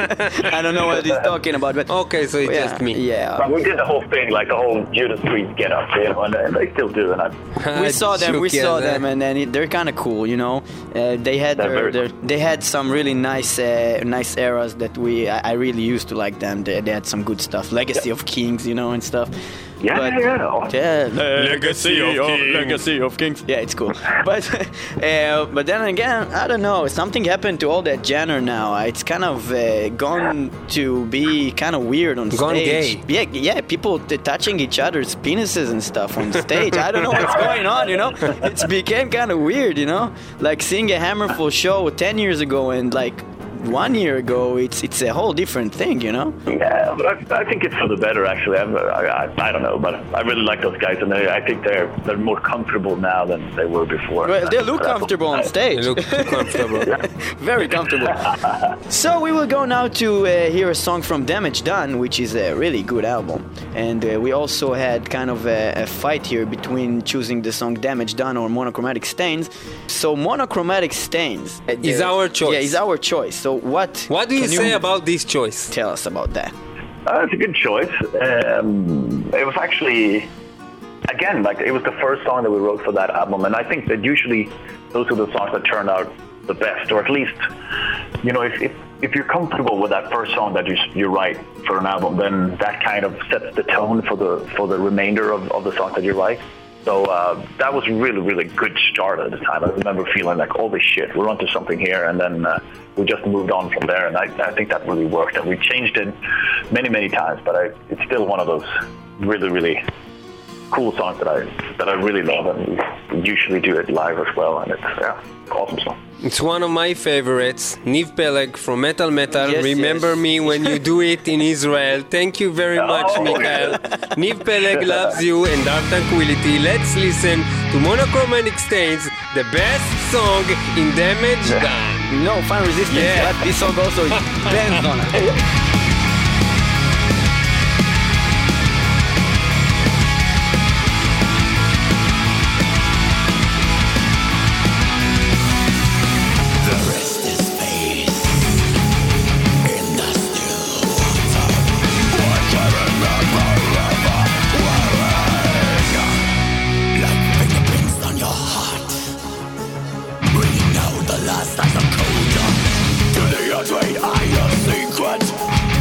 [SPEAKER 2] I don't know what he's talking about. But
[SPEAKER 6] Okay, so it's
[SPEAKER 2] yeah,
[SPEAKER 6] just me.
[SPEAKER 2] Yeah,
[SPEAKER 1] But we did the whole thing, like the whole Judas Priest get up, you know, and they, they still do. And I,
[SPEAKER 2] we saw them. We
[SPEAKER 6] Together.
[SPEAKER 2] saw them, and then it, they're kind of cool, you know. Uh, they had
[SPEAKER 1] They're
[SPEAKER 2] their,
[SPEAKER 1] very
[SPEAKER 2] their, they had some really nice uh, nice eras that we I, I really used to like them. They, they had some good stuff, Legacy of Kings, you know, and stuff.
[SPEAKER 1] yeah,
[SPEAKER 2] But-
[SPEAKER 1] yeah, yeah.
[SPEAKER 2] Yeah,
[SPEAKER 3] Legacy of Kings.
[SPEAKER 2] Legacy of Kings. Yeah, it's cool. But uh, but then again, I don't know. Something happened to all that genre now. It's kind of uh, gone to be kind of weird on
[SPEAKER 6] Gone
[SPEAKER 2] stage.
[SPEAKER 6] gay.
[SPEAKER 2] Yeah, yeah. People t- touching each other's penises and stuff on stage. I don't know what's going on. You know, it's became kind of weird. You know, like seeing a Hammerful show ten years ago and like one year ago, it's it's a whole different thing. You know.
[SPEAKER 1] Yeah, but I, I think it's for the better, actually. I'm, I, I, I don't know, but I really like those guys, and they, I think they're they're more comfortable now than they were before.
[SPEAKER 2] Well, they look
[SPEAKER 1] But I-
[SPEAKER 2] comfortable on stage.
[SPEAKER 6] They look too comfortable.
[SPEAKER 2] Very comfortable. So we will go now to uh, hear a song from Damage Done, which is a really good album. And uh, we also had kind of a, a fight here between choosing the song Damage Done or Monochromatic Stains. So Monochromatic Stains uh,
[SPEAKER 6] Is our choice.
[SPEAKER 2] Yeah, is our choice. So what?
[SPEAKER 6] What do you
[SPEAKER 2] can
[SPEAKER 6] say about this choice?
[SPEAKER 2] Tell us about that.
[SPEAKER 1] Uh, it's a good choice. Um, it was actually, again, like it was the first song that we wrote for that album, and I think that usually those are the songs that turn out the best, or at least, you know, if if, if you're comfortable with that first song that you you write for an album, then that kind of sets the tone for the for the remainder of, of the songs that you write. So uh, that was really, really good start at the time. I remember feeling like, holy shit, we're onto something here, and then uh, we just moved on from there, and I, I think that really worked. And we changed it many, many times, but I, it's still one of those really, really cool songs that I that I really love, and we usually do it live as well, and it's yeah, awesome song.
[SPEAKER 6] It's one of my favorites, Niv Peleg from Metal Metal.
[SPEAKER 2] Yes,
[SPEAKER 6] Remember
[SPEAKER 2] yes.
[SPEAKER 6] me when you do it in Israel. Thank you very much,
[SPEAKER 1] Oh.
[SPEAKER 6] Michael. Niv Peleg loves you and Dark Tranquility. Let's listen to Monochromatic Stains, the best song in Damage Done.
[SPEAKER 2] No, Final Resistance,
[SPEAKER 6] Yeah.
[SPEAKER 2] but this song also bands on it.
[SPEAKER 4] The rest is space in the still water. I can remember ever wearing like fingerprints on your heart, bringing out the last as a code to the untrained eye of secret.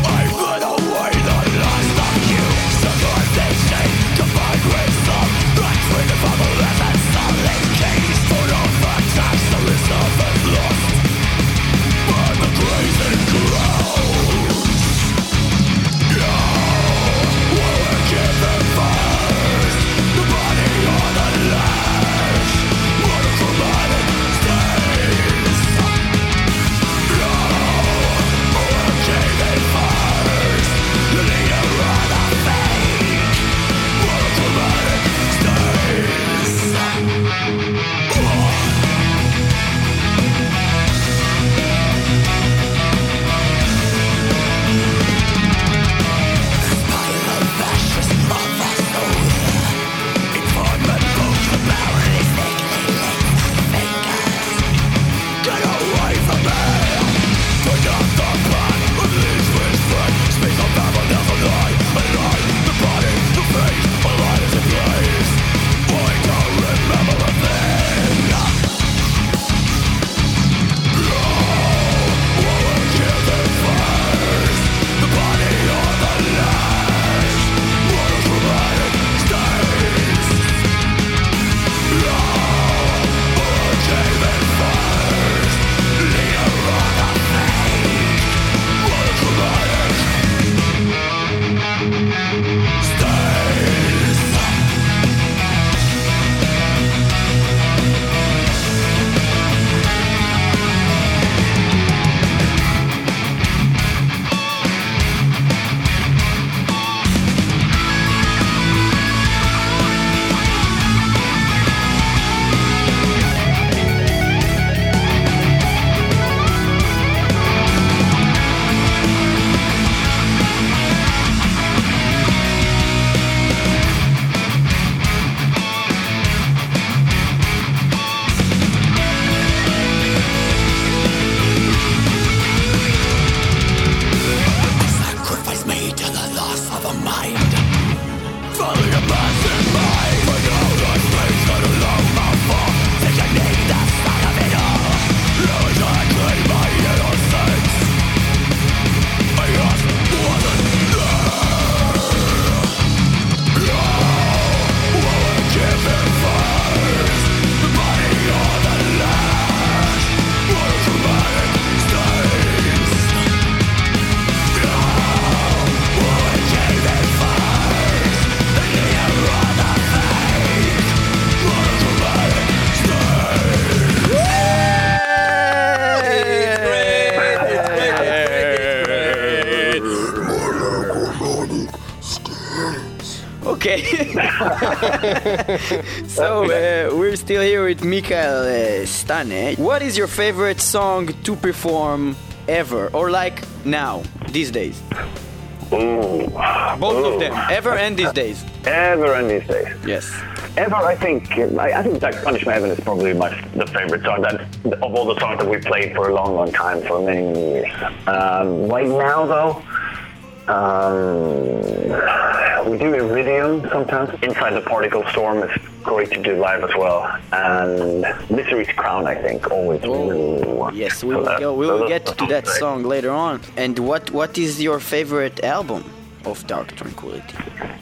[SPEAKER 2] So uh, we're still here with Mikael uh, Stane. What is your favorite song to perform ever, or like now, these days?
[SPEAKER 1] Ooh.
[SPEAKER 2] Both
[SPEAKER 1] Ooh.
[SPEAKER 2] of them, ever and these days.
[SPEAKER 1] Ever and these days.
[SPEAKER 2] Yes.
[SPEAKER 1] Ever, I think, I, I think that Punishment Heaven is probably my the favorite song that of all the songs that we played for a long, long time, for many, many years. Um, right now, though, um, we do Iridium sometimes. Inside the Particle Storm is great to do live as well, and Misery's Crown, I think, always. Ooh.
[SPEAKER 2] Yes, we
[SPEAKER 1] So
[SPEAKER 2] will
[SPEAKER 1] that-
[SPEAKER 2] go. We
[SPEAKER 1] so
[SPEAKER 2] will
[SPEAKER 1] that-
[SPEAKER 2] get to that
[SPEAKER 1] great.
[SPEAKER 2] song later on. And what what is your favorite album of Dark Tranquility?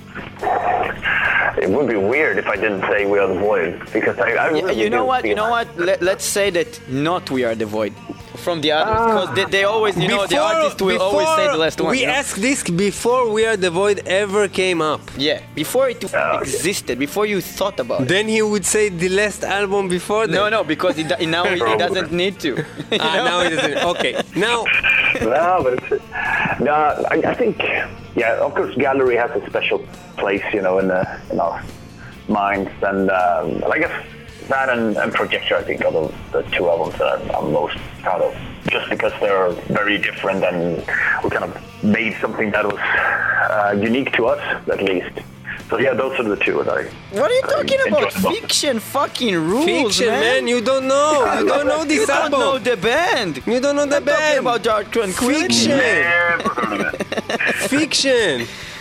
[SPEAKER 1] It would be weird if I didn't say We Are the Void, because I, I
[SPEAKER 2] Yeah,
[SPEAKER 1] really
[SPEAKER 2] you know
[SPEAKER 1] do
[SPEAKER 2] what? You
[SPEAKER 1] feel
[SPEAKER 2] know
[SPEAKER 1] that.
[SPEAKER 2] what? Let, let's say that not We Are the Void from the others, because they, they always, you know, the artist will always say the last one.
[SPEAKER 6] We
[SPEAKER 2] you know?
[SPEAKER 6] asked this before We Are the Void ever came up.
[SPEAKER 2] Yeah, before it
[SPEAKER 1] okay.
[SPEAKER 2] existed, before you thought about it.
[SPEAKER 6] Then he would say the last album before that.
[SPEAKER 2] No, no, because he, do- now he, he doesn't need to. You
[SPEAKER 6] Ah,
[SPEAKER 2] know?
[SPEAKER 6] now he doesn't. Okay, now
[SPEAKER 1] No, but it's, no, I, I think, yeah, of course, Gallery has a special place, you know, in the in our minds, and um, I guess that and, and Projector, I think, are the, the two albums that I'm, I'm most proud of, just because they're very different, and we kind of made something that was uh, unique to us, at least. So yeah, those are the two that I.
[SPEAKER 2] What are you
[SPEAKER 1] I
[SPEAKER 2] talking
[SPEAKER 1] enjoy
[SPEAKER 2] about?
[SPEAKER 1] the most.
[SPEAKER 2] Fiction fucking rules,
[SPEAKER 6] fiction,
[SPEAKER 2] man.
[SPEAKER 6] man. You don't know. You don't know this
[SPEAKER 2] You don't
[SPEAKER 6] album.
[SPEAKER 2] know the band.
[SPEAKER 6] You don't know the
[SPEAKER 2] I'm talking
[SPEAKER 6] band.
[SPEAKER 2] about Dark Tranquility.
[SPEAKER 6] Fiction.
[SPEAKER 1] Never heard of it.
[SPEAKER 6] Fiction.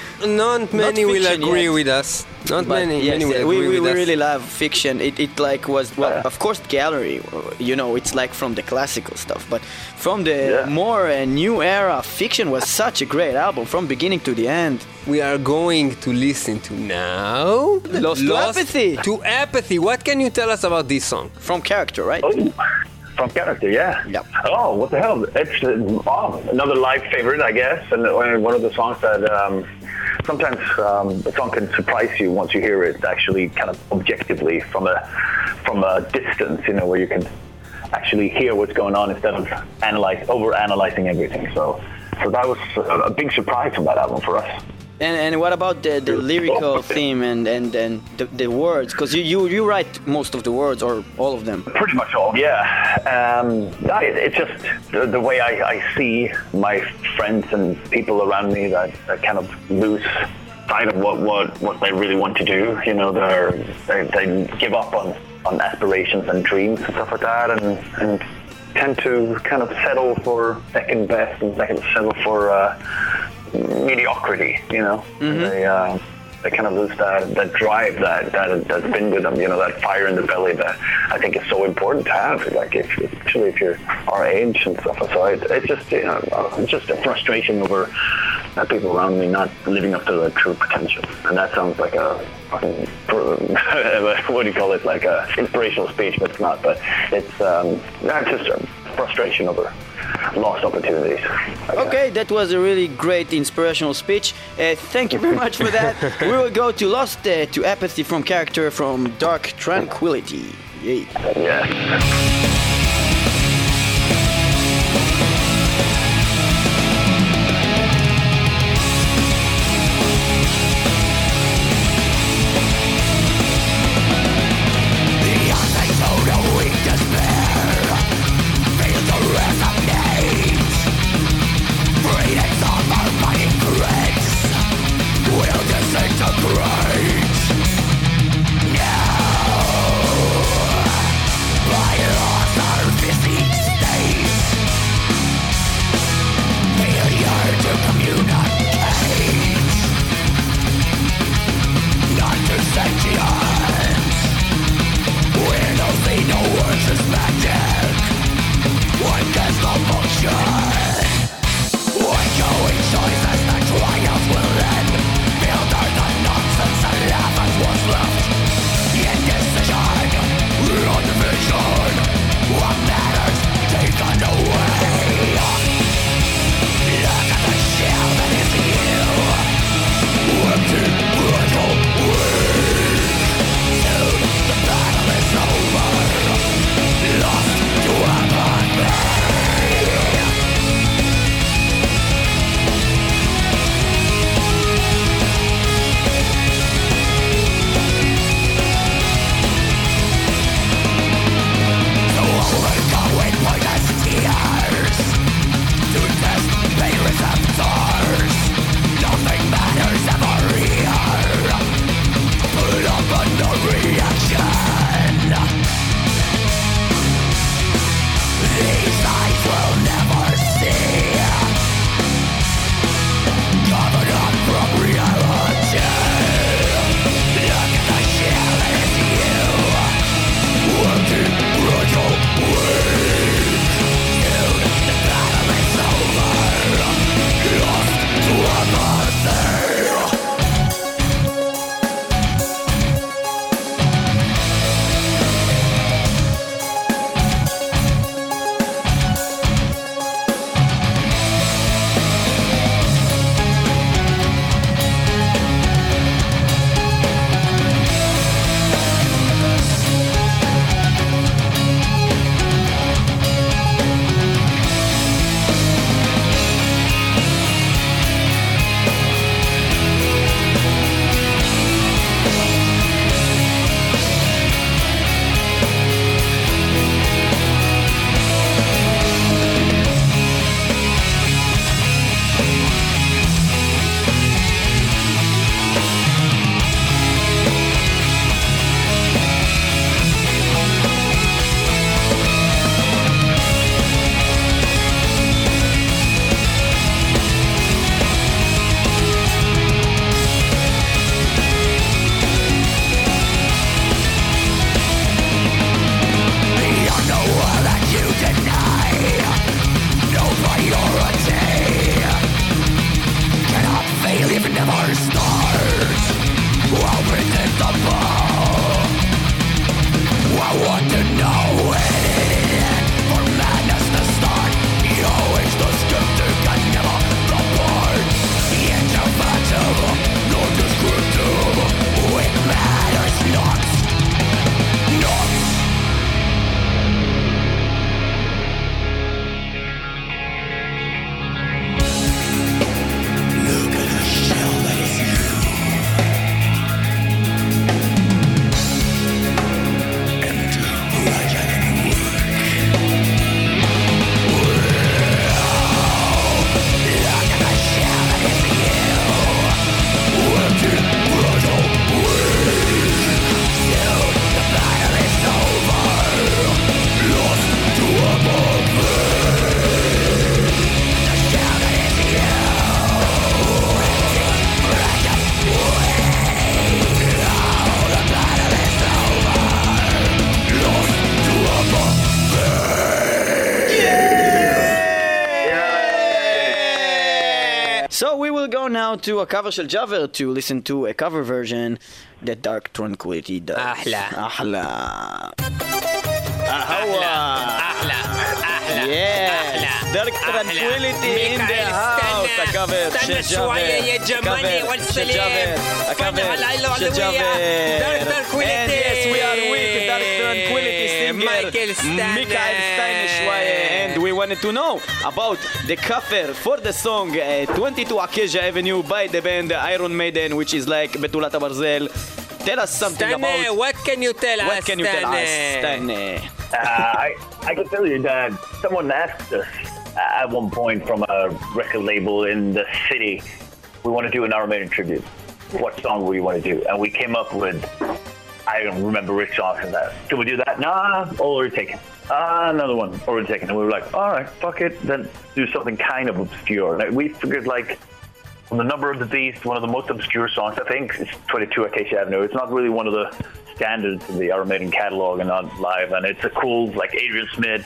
[SPEAKER 6] Not many will
[SPEAKER 2] fiction
[SPEAKER 6] agree
[SPEAKER 2] yet.
[SPEAKER 6] with us. Not
[SPEAKER 2] But
[SPEAKER 6] many.
[SPEAKER 2] yes,
[SPEAKER 6] many will
[SPEAKER 2] we,
[SPEAKER 6] agree
[SPEAKER 2] we,
[SPEAKER 6] with
[SPEAKER 2] we
[SPEAKER 6] us.
[SPEAKER 2] really love fiction. It, it like was well, of course, Gallery. You know, it's like from the classical stuff, but from the
[SPEAKER 1] Yeah.
[SPEAKER 2] more uh, new era, Fiction was such a great album from beginning to the end.
[SPEAKER 6] We are going to listen to now.
[SPEAKER 2] Lost to Apathy.
[SPEAKER 6] To Apathy. What can you tell us about this song?
[SPEAKER 2] From Character, right?
[SPEAKER 1] Oh, from Character, yeah.
[SPEAKER 2] Yep.
[SPEAKER 1] Oh, what the hell? It's uh, oh, another live favorite, I guess, and uh, one of the songs that um, sometimes um, a song can surprise you once you hear it, actually, kind of objectively from a from a distance, you know, where you can actually hear what's going on instead of analyze over analyzing everything. So, so that was a, a big surprise from that album for us.
[SPEAKER 2] And and what about the, the lyrical theme and and, and the, the words? Because you, you you write most of the words or all of them.
[SPEAKER 1] Pretty much all, yeah. Um, I, it's just the, the way I, I see my friends and people around me that, that kind of lose sight of what, what, what they really want to do. You know, they're, they they give up on, on aspirations and dreams and stuff like that, and, and tend to kind of settle for second best and second settle for uh, mediocrity. You know,
[SPEAKER 2] Mm-hmm.
[SPEAKER 1] they. Uh, They kind of lose that, that drive that, that that's been with them, you know, that fire in the belly that I think is so important to have. Like, if, especially if you're our age and stuff. So it, it's just, you know, it's just a frustration over uh, people around me not living up to their true potential. And that sounds like a fucking, what do you call it? Like a inspirational speech, but it's not. But it's um, that's just a frustration over lost opportunities. Like
[SPEAKER 2] Okay, that was a really great inspirational speech. Uh, thank you very much for that. We will go to Lost uh, to Apathy from Character from Dark Tranquility. Yay.
[SPEAKER 1] that. Yeah.
[SPEAKER 4] By your
[SPEAKER 2] go now to a cover של ג'אבר to listen to a cover version that Dark Tranquility does.
[SPEAKER 6] אחלה.
[SPEAKER 2] אחלה.
[SPEAKER 6] אחלה. אחלה.
[SPEAKER 2] Yes, Dark Tranquility in the house. הקאבר של
[SPEAKER 6] استنى شوية يا جمالي والسلام.
[SPEAKER 2] הקאבר של ג'אבר.
[SPEAKER 6] Dark Tranquility.
[SPEAKER 2] And yes, we are with Dark Tranquility singer
[SPEAKER 6] מייקל סטיינר.
[SPEAKER 2] מיכאל סטיינר שוואיה. And we wanted to know about the cover for the song uh, twenty-two Acacia Avenue by the band Iron Maiden, which is like בתולת הברזל. Tell us something
[SPEAKER 6] סטיינר,
[SPEAKER 2] about
[SPEAKER 6] what can you tell us,
[SPEAKER 2] what can you tell us, סטיינר?
[SPEAKER 1] Uh, I, I can tell you that someone asked us at one point from a record label in the city, we want to do an Iron Maiden tribute. What song do we want to do? And we came up with, I don't remember which song from that. Can we do that? Nah, already taken. Ah, another one, already taken. And we were like, all right, fuck it, then do something kind of obscure. Like, we figured like, on the Number of the Beast, one of the most obscure songs, I think, is twenty-two Acacia Avenue. It's not really one of the standards in the Iron Maiden catalog and not live, and it's a cool, like Adrian Smith.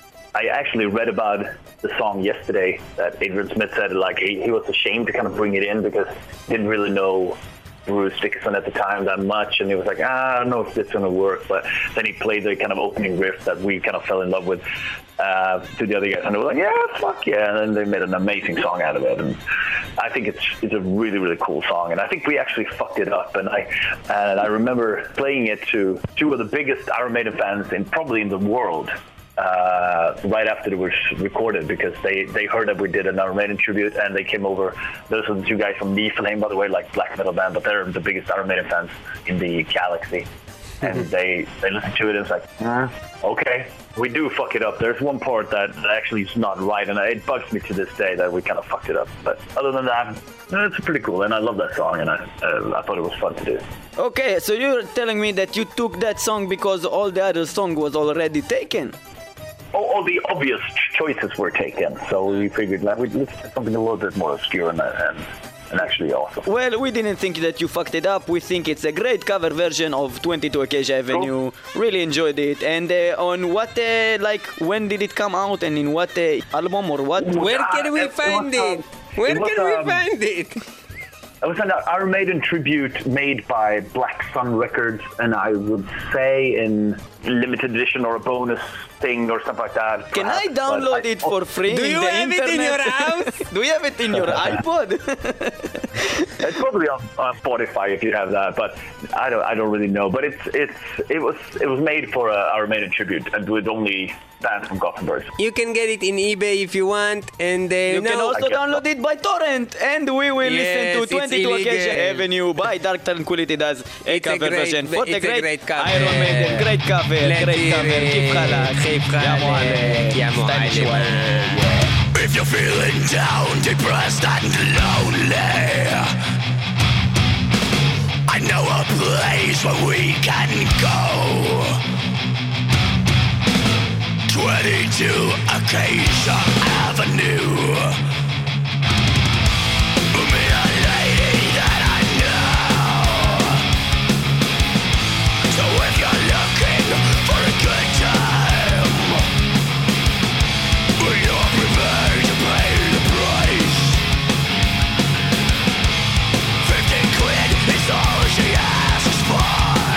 [SPEAKER 1] I actually read about the song yesterday that Adrian Smith said like he, he was ashamed to kind of bring it in because he didn't really know Bruce Dickinson at the time that much, and he was like, ah, I don't know if this is going to work, but then he played the kind of opening riff that we kind of fell in love with uh, to the other guys, and they were like, yeah, fuck yeah, and then they made an amazing song out of it, and I think it's it's a really, really cool song, and I think we actually fucked it up, and I and I remember playing it to two of the biggest Iron Maiden fans in probably in the world, uh, right after it was recorded, because they, they heard that we did an Iron Maiden tribute, and they came over. Those are the two guys from Niflheim, by the way, like black metal band, but they're the biggest Iron Maiden fans in the galaxy. And they, they listened to it and it's like, mm, okay, we do fuck it up. There's one part that actually is not right, and it bugs me to this day that we kind of fucked it up. But other than that, it's pretty cool, and I love that song, and I, uh, I thought it was fun to do.
[SPEAKER 2] Okay, so you're telling me that you took that song because all the other song was already taken?
[SPEAKER 1] All, all the obvious choices were taken, so we figured like, we'd let's do something a little bit more obscure and, and, and actually awesome.
[SPEAKER 2] Well, we didn't think that you fucked it up. We think it's a great cover version of twenty-two Acacia Avenue. Cool. Really enjoyed it. And uh, on what, uh, like, when did it come out and in what uh, album or what?
[SPEAKER 6] Where can we
[SPEAKER 1] Uh, it
[SPEAKER 6] find
[SPEAKER 1] was,
[SPEAKER 6] it?
[SPEAKER 1] um,
[SPEAKER 6] Where
[SPEAKER 1] it was,
[SPEAKER 6] can we
[SPEAKER 1] um,
[SPEAKER 6] find it?
[SPEAKER 1] It was an Iron Maiden tribute made by Black Sun Records, and I would say in limited edition or a bonus thing or something like that.
[SPEAKER 2] Can I
[SPEAKER 1] perhaps,
[SPEAKER 2] download
[SPEAKER 1] but I-
[SPEAKER 2] it for free
[SPEAKER 6] Do
[SPEAKER 2] in
[SPEAKER 6] you
[SPEAKER 2] the
[SPEAKER 6] have it in
[SPEAKER 2] internet?
[SPEAKER 6] your house?
[SPEAKER 2] Do you have it in your iPod?
[SPEAKER 1] It's probably on, on Spotify if you have that, but I don't I don't really know. But it's it's it was it was made for a Iron Maiden tribute and with only bands from Gothenburg.
[SPEAKER 6] You can get it in eBay if you want, and uh,
[SPEAKER 2] You
[SPEAKER 6] no,
[SPEAKER 2] can also
[SPEAKER 1] I guess
[SPEAKER 2] download
[SPEAKER 1] so.
[SPEAKER 2] it by torrent, and we will
[SPEAKER 6] Yes,
[SPEAKER 2] listen to
[SPEAKER 6] it's
[SPEAKER 2] twenty-two
[SPEAKER 6] illegal.
[SPEAKER 2] Acacia Avenue by Dark Tranquility does a
[SPEAKER 6] It's a
[SPEAKER 2] cover
[SPEAKER 6] great-
[SPEAKER 2] version for the
[SPEAKER 6] it's a
[SPEAKER 2] great,
[SPEAKER 6] great cover.
[SPEAKER 2] Iron Maiden. Great cover,
[SPEAKER 6] Let's
[SPEAKER 2] great
[SPEAKER 6] hear
[SPEAKER 2] cover.
[SPEAKER 6] it.
[SPEAKER 2] כיף חלק,
[SPEAKER 6] כיף
[SPEAKER 2] יא
[SPEAKER 6] חלק,
[SPEAKER 2] מועלם,
[SPEAKER 6] יא
[SPEAKER 2] סטיין
[SPEAKER 6] מועלם.
[SPEAKER 2] שוואיה.
[SPEAKER 4] If you're feeling down, depressed and lonely, I know a place where we can go. twenty-two Acacia Avenue. Meet a lady that I know. So if you're looking for a good time, you're prepared to pay the price. Fifty quid is all she asks for.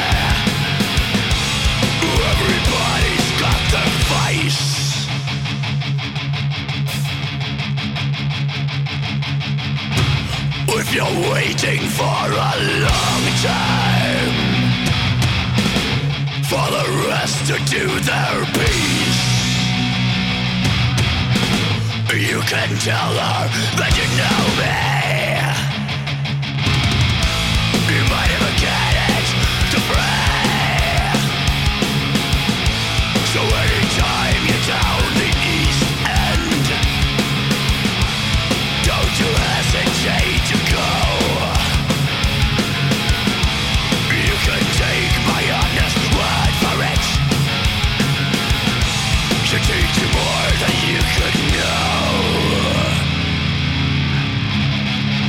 [SPEAKER 4] Everybody's got their vice. If you're waiting for a long time for the rest to do their piece, you can tell her that you know me. You might even get it to free. So anytime you're down the east end, don't you hesitate to go. You can take my honest word for it. Should teach you more than you could know.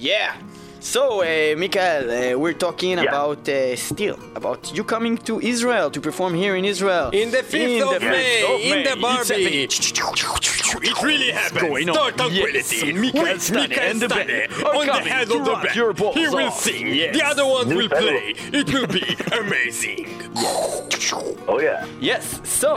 [SPEAKER 2] Yeah. So, uh, Mikael, uh, we're talking
[SPEAKER 1] Yeah.
[SPEAKER 2] about uh, still about you coming to Israel to perform here in Israel.
[SPEAKER 6] In the fifth of
[SPEAKER 2] the
[SPEAKER 6] May,
[SPEAKER 2] fifth of
[SPEAKER 6] in
[SPEAKER 2] May.
[SPEAKER 6] the Barbie.
[SPEAKER 3] It really happens.
[SPEAKER 2] going on?
[SPEAKER 3] Star Tranquility.
[SPEAKER 2] Yes, Mikael
[SPEAKER 3] With
[SPEAKER 2] Stane
[SPEAKER 3] Mikael
[SPEAKER 2] and the
[SPEAKER 3] Stane
[SPEAKER 2] band are
[SPEAKER 3] on the
[SPEAKER 2] coming
[SPEAKER 3] head
[SPEAKER 2] to
[SPEAKER 3] of the
[SPEAKER 2] rock
[SPEAKER 3] band.
[SPEAKER 2] your balls
[SPEAKER 3] He will
[SPEAKER 2] off.
[SPEAKER 3] sing.
[SPEAKER 2] Yes.
[SPEAKER 3] The other ones
[SPEAKER 1] New
[SPEAKER 3] will
[SPEAKER 1] pedal.
[SPEAKER 3] play. It will be amazing.
[SPEAKER 1] Oh yeah.
[SPEAKER 2] Yes. So,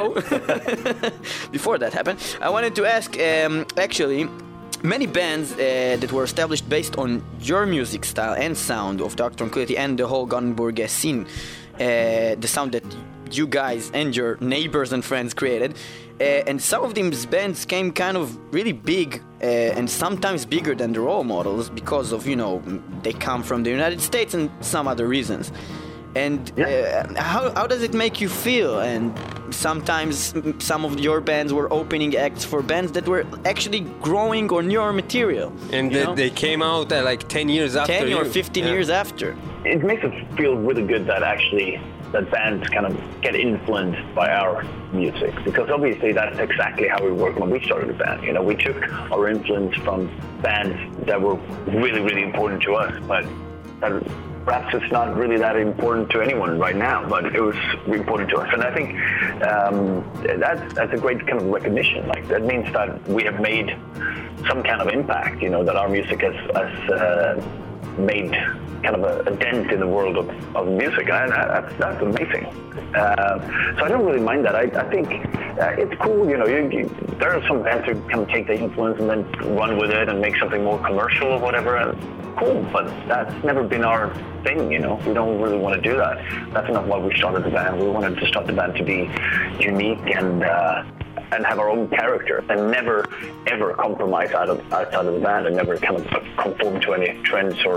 [SPEAKER 2] before that happened, I wanted to ask. Um, actually, many bands uh, that were established based on your music style and sound of Dark Tranquility and the whole Gothenburg uh, scene, uh, the sound that you guys and your neighbors and friends created. Uh, and some of these bands came kind of really big uh, and sometimes bigger than the role models because of, you know, they come from the United States and some other reasons. And uh, how, how does it make you feel? And sometimes some of your bands were opening acts for bands that were actually growing on your material.
[SPEAKER 6] And
[SPEAKER 2] you
[SPEAKER 6] they,
[SPEAKER 2] know?
[SPEAKER 6] they came out uh, like ten years after
[SPEAKER 2] ten or
[SPEAKER 6] you.
[SPEAKER 2] fifteen
[SPEAKER 6] Yeah.
[SPEAKER 2] years after.
[SPEAKER 1] It makes us feel really good that actually that bands kind of get influenced by our music, because obviously that's exactly how we worked when we started the band. You know, we took our influence from bands that were really, really important to us, but that perhaps it's not really that important to anyone right now, but it was important to us. And I think um, that's, that's a great kind of recognition. Like, that means that we have made some kind of impact, you know, that our music has, has uh, made kind of a, a dent in the world of, of music, and I, that's, that's amazing. Uh, so I don't really mind that. I, I think uh, it's cool, you know, you, you, there are some bands who kind of take the influence and then run with it and make something more commercial or whatever, and cool, but that's never been our thing, you know. We don't really want to do that. That's not why we started the band. We wanted to start the band to be unique and uh, and have our own character, and never ever compromise out of outside of the band, and never kind of conform to any trends or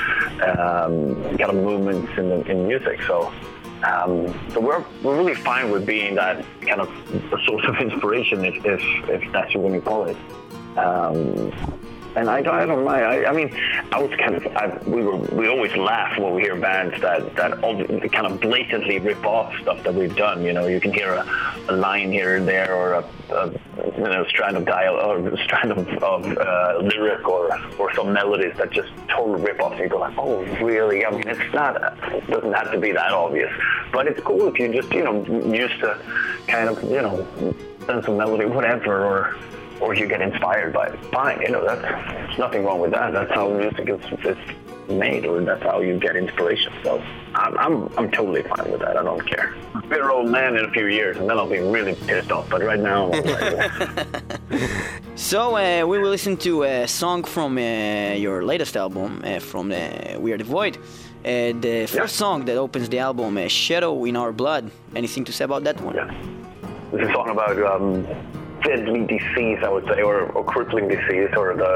[SPEAKER 1] um, kind of movements in the, in music. So um, so we're we're really fine with being that kind of a source of inspiration, if if, if that's what you call it. Um, And I don't, I don't mind. I, I mean, I was kind of, I, we were, we always laugh when we hear bands that, that all, kind of blatantly rip off stuff that we've done. You know, you can hear a, a line here and there, or a, a you know, strand of dial, or a strand of, of uh, lyric, or, or some melodies that just totally rip off. And you go like, oh, really? I mean, it's not, it doesn't have to be that obvious. But it's cool if you just, you know, used to kind of, you know, send some melody, whatever, or, or you get inspired by it. Fine, you know, that's, there's nothing wrong with that. That's how music is, is made, or that's how you get inspiration. So I'm, I'm, I'm totally fine with that. I don't care. Bitter old man in a few years, and then I'll be really pissed off. But right now, I'm all right.
[SPEAKER 2] So uh, we will listen to a song from uh, your latest album, uh, from uh, We Are the Void. Uh, the first
[SPEAKER 1] Yeah.
[SPEAKER 2] song that opens the album, uh, Shadow in Our Blood. Anything to say about that one?
[SPEAKER 1] Yeah. This is a song about um, deadly disease, I would say, or, or crippling disease, or the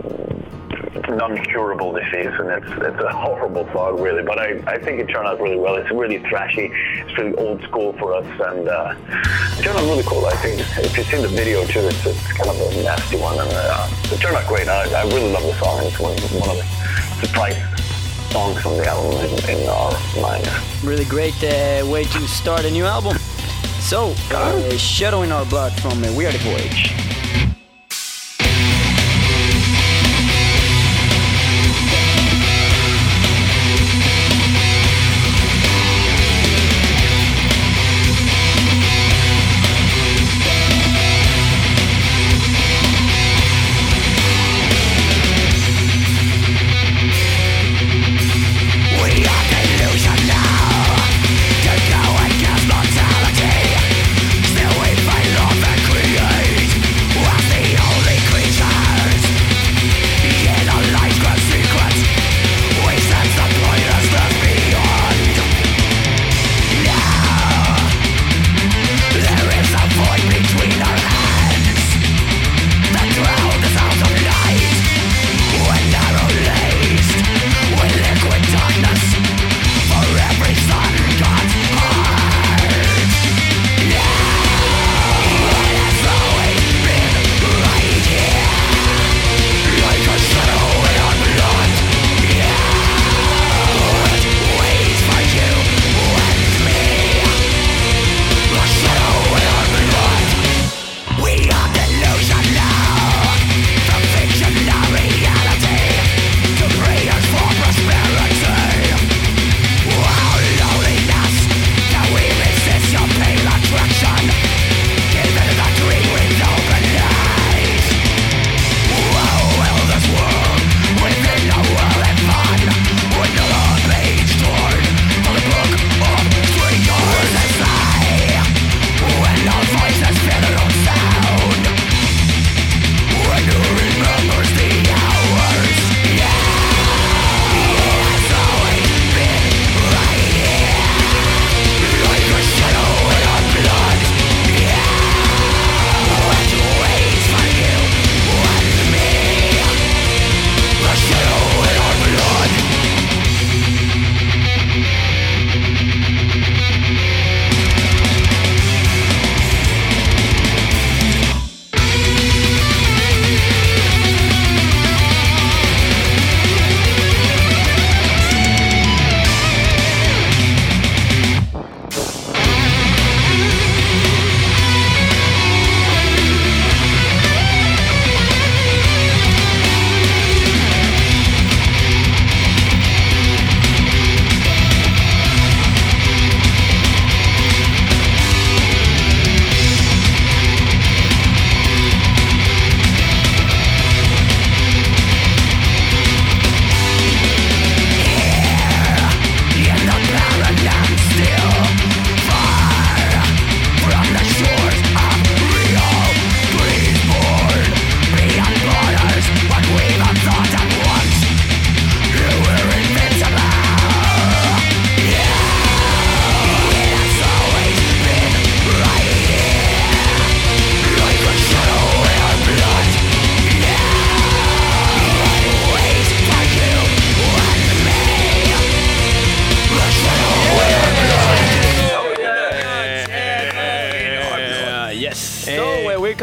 [SPEAKER 1] non-curable disease, and it's it's a horrible song, really. But I, I think it turned out really well. It's really thrashy. It's really old school for us, and uh, it turned out really cool. I think if you've seen the video too, it's, it's kind of a nasty one, and uh, it turned out great. I, I really love the song, and it's one, one of the surprise songs on the album in, in our mind.
[SPEAKER 2] Really great uh, way to start a new album. So, uh, Shadow in Our Blood from uh, We Are the Void.
[SPEAKER 4] We are the illusion now, to go against mortality. Still we find love and create.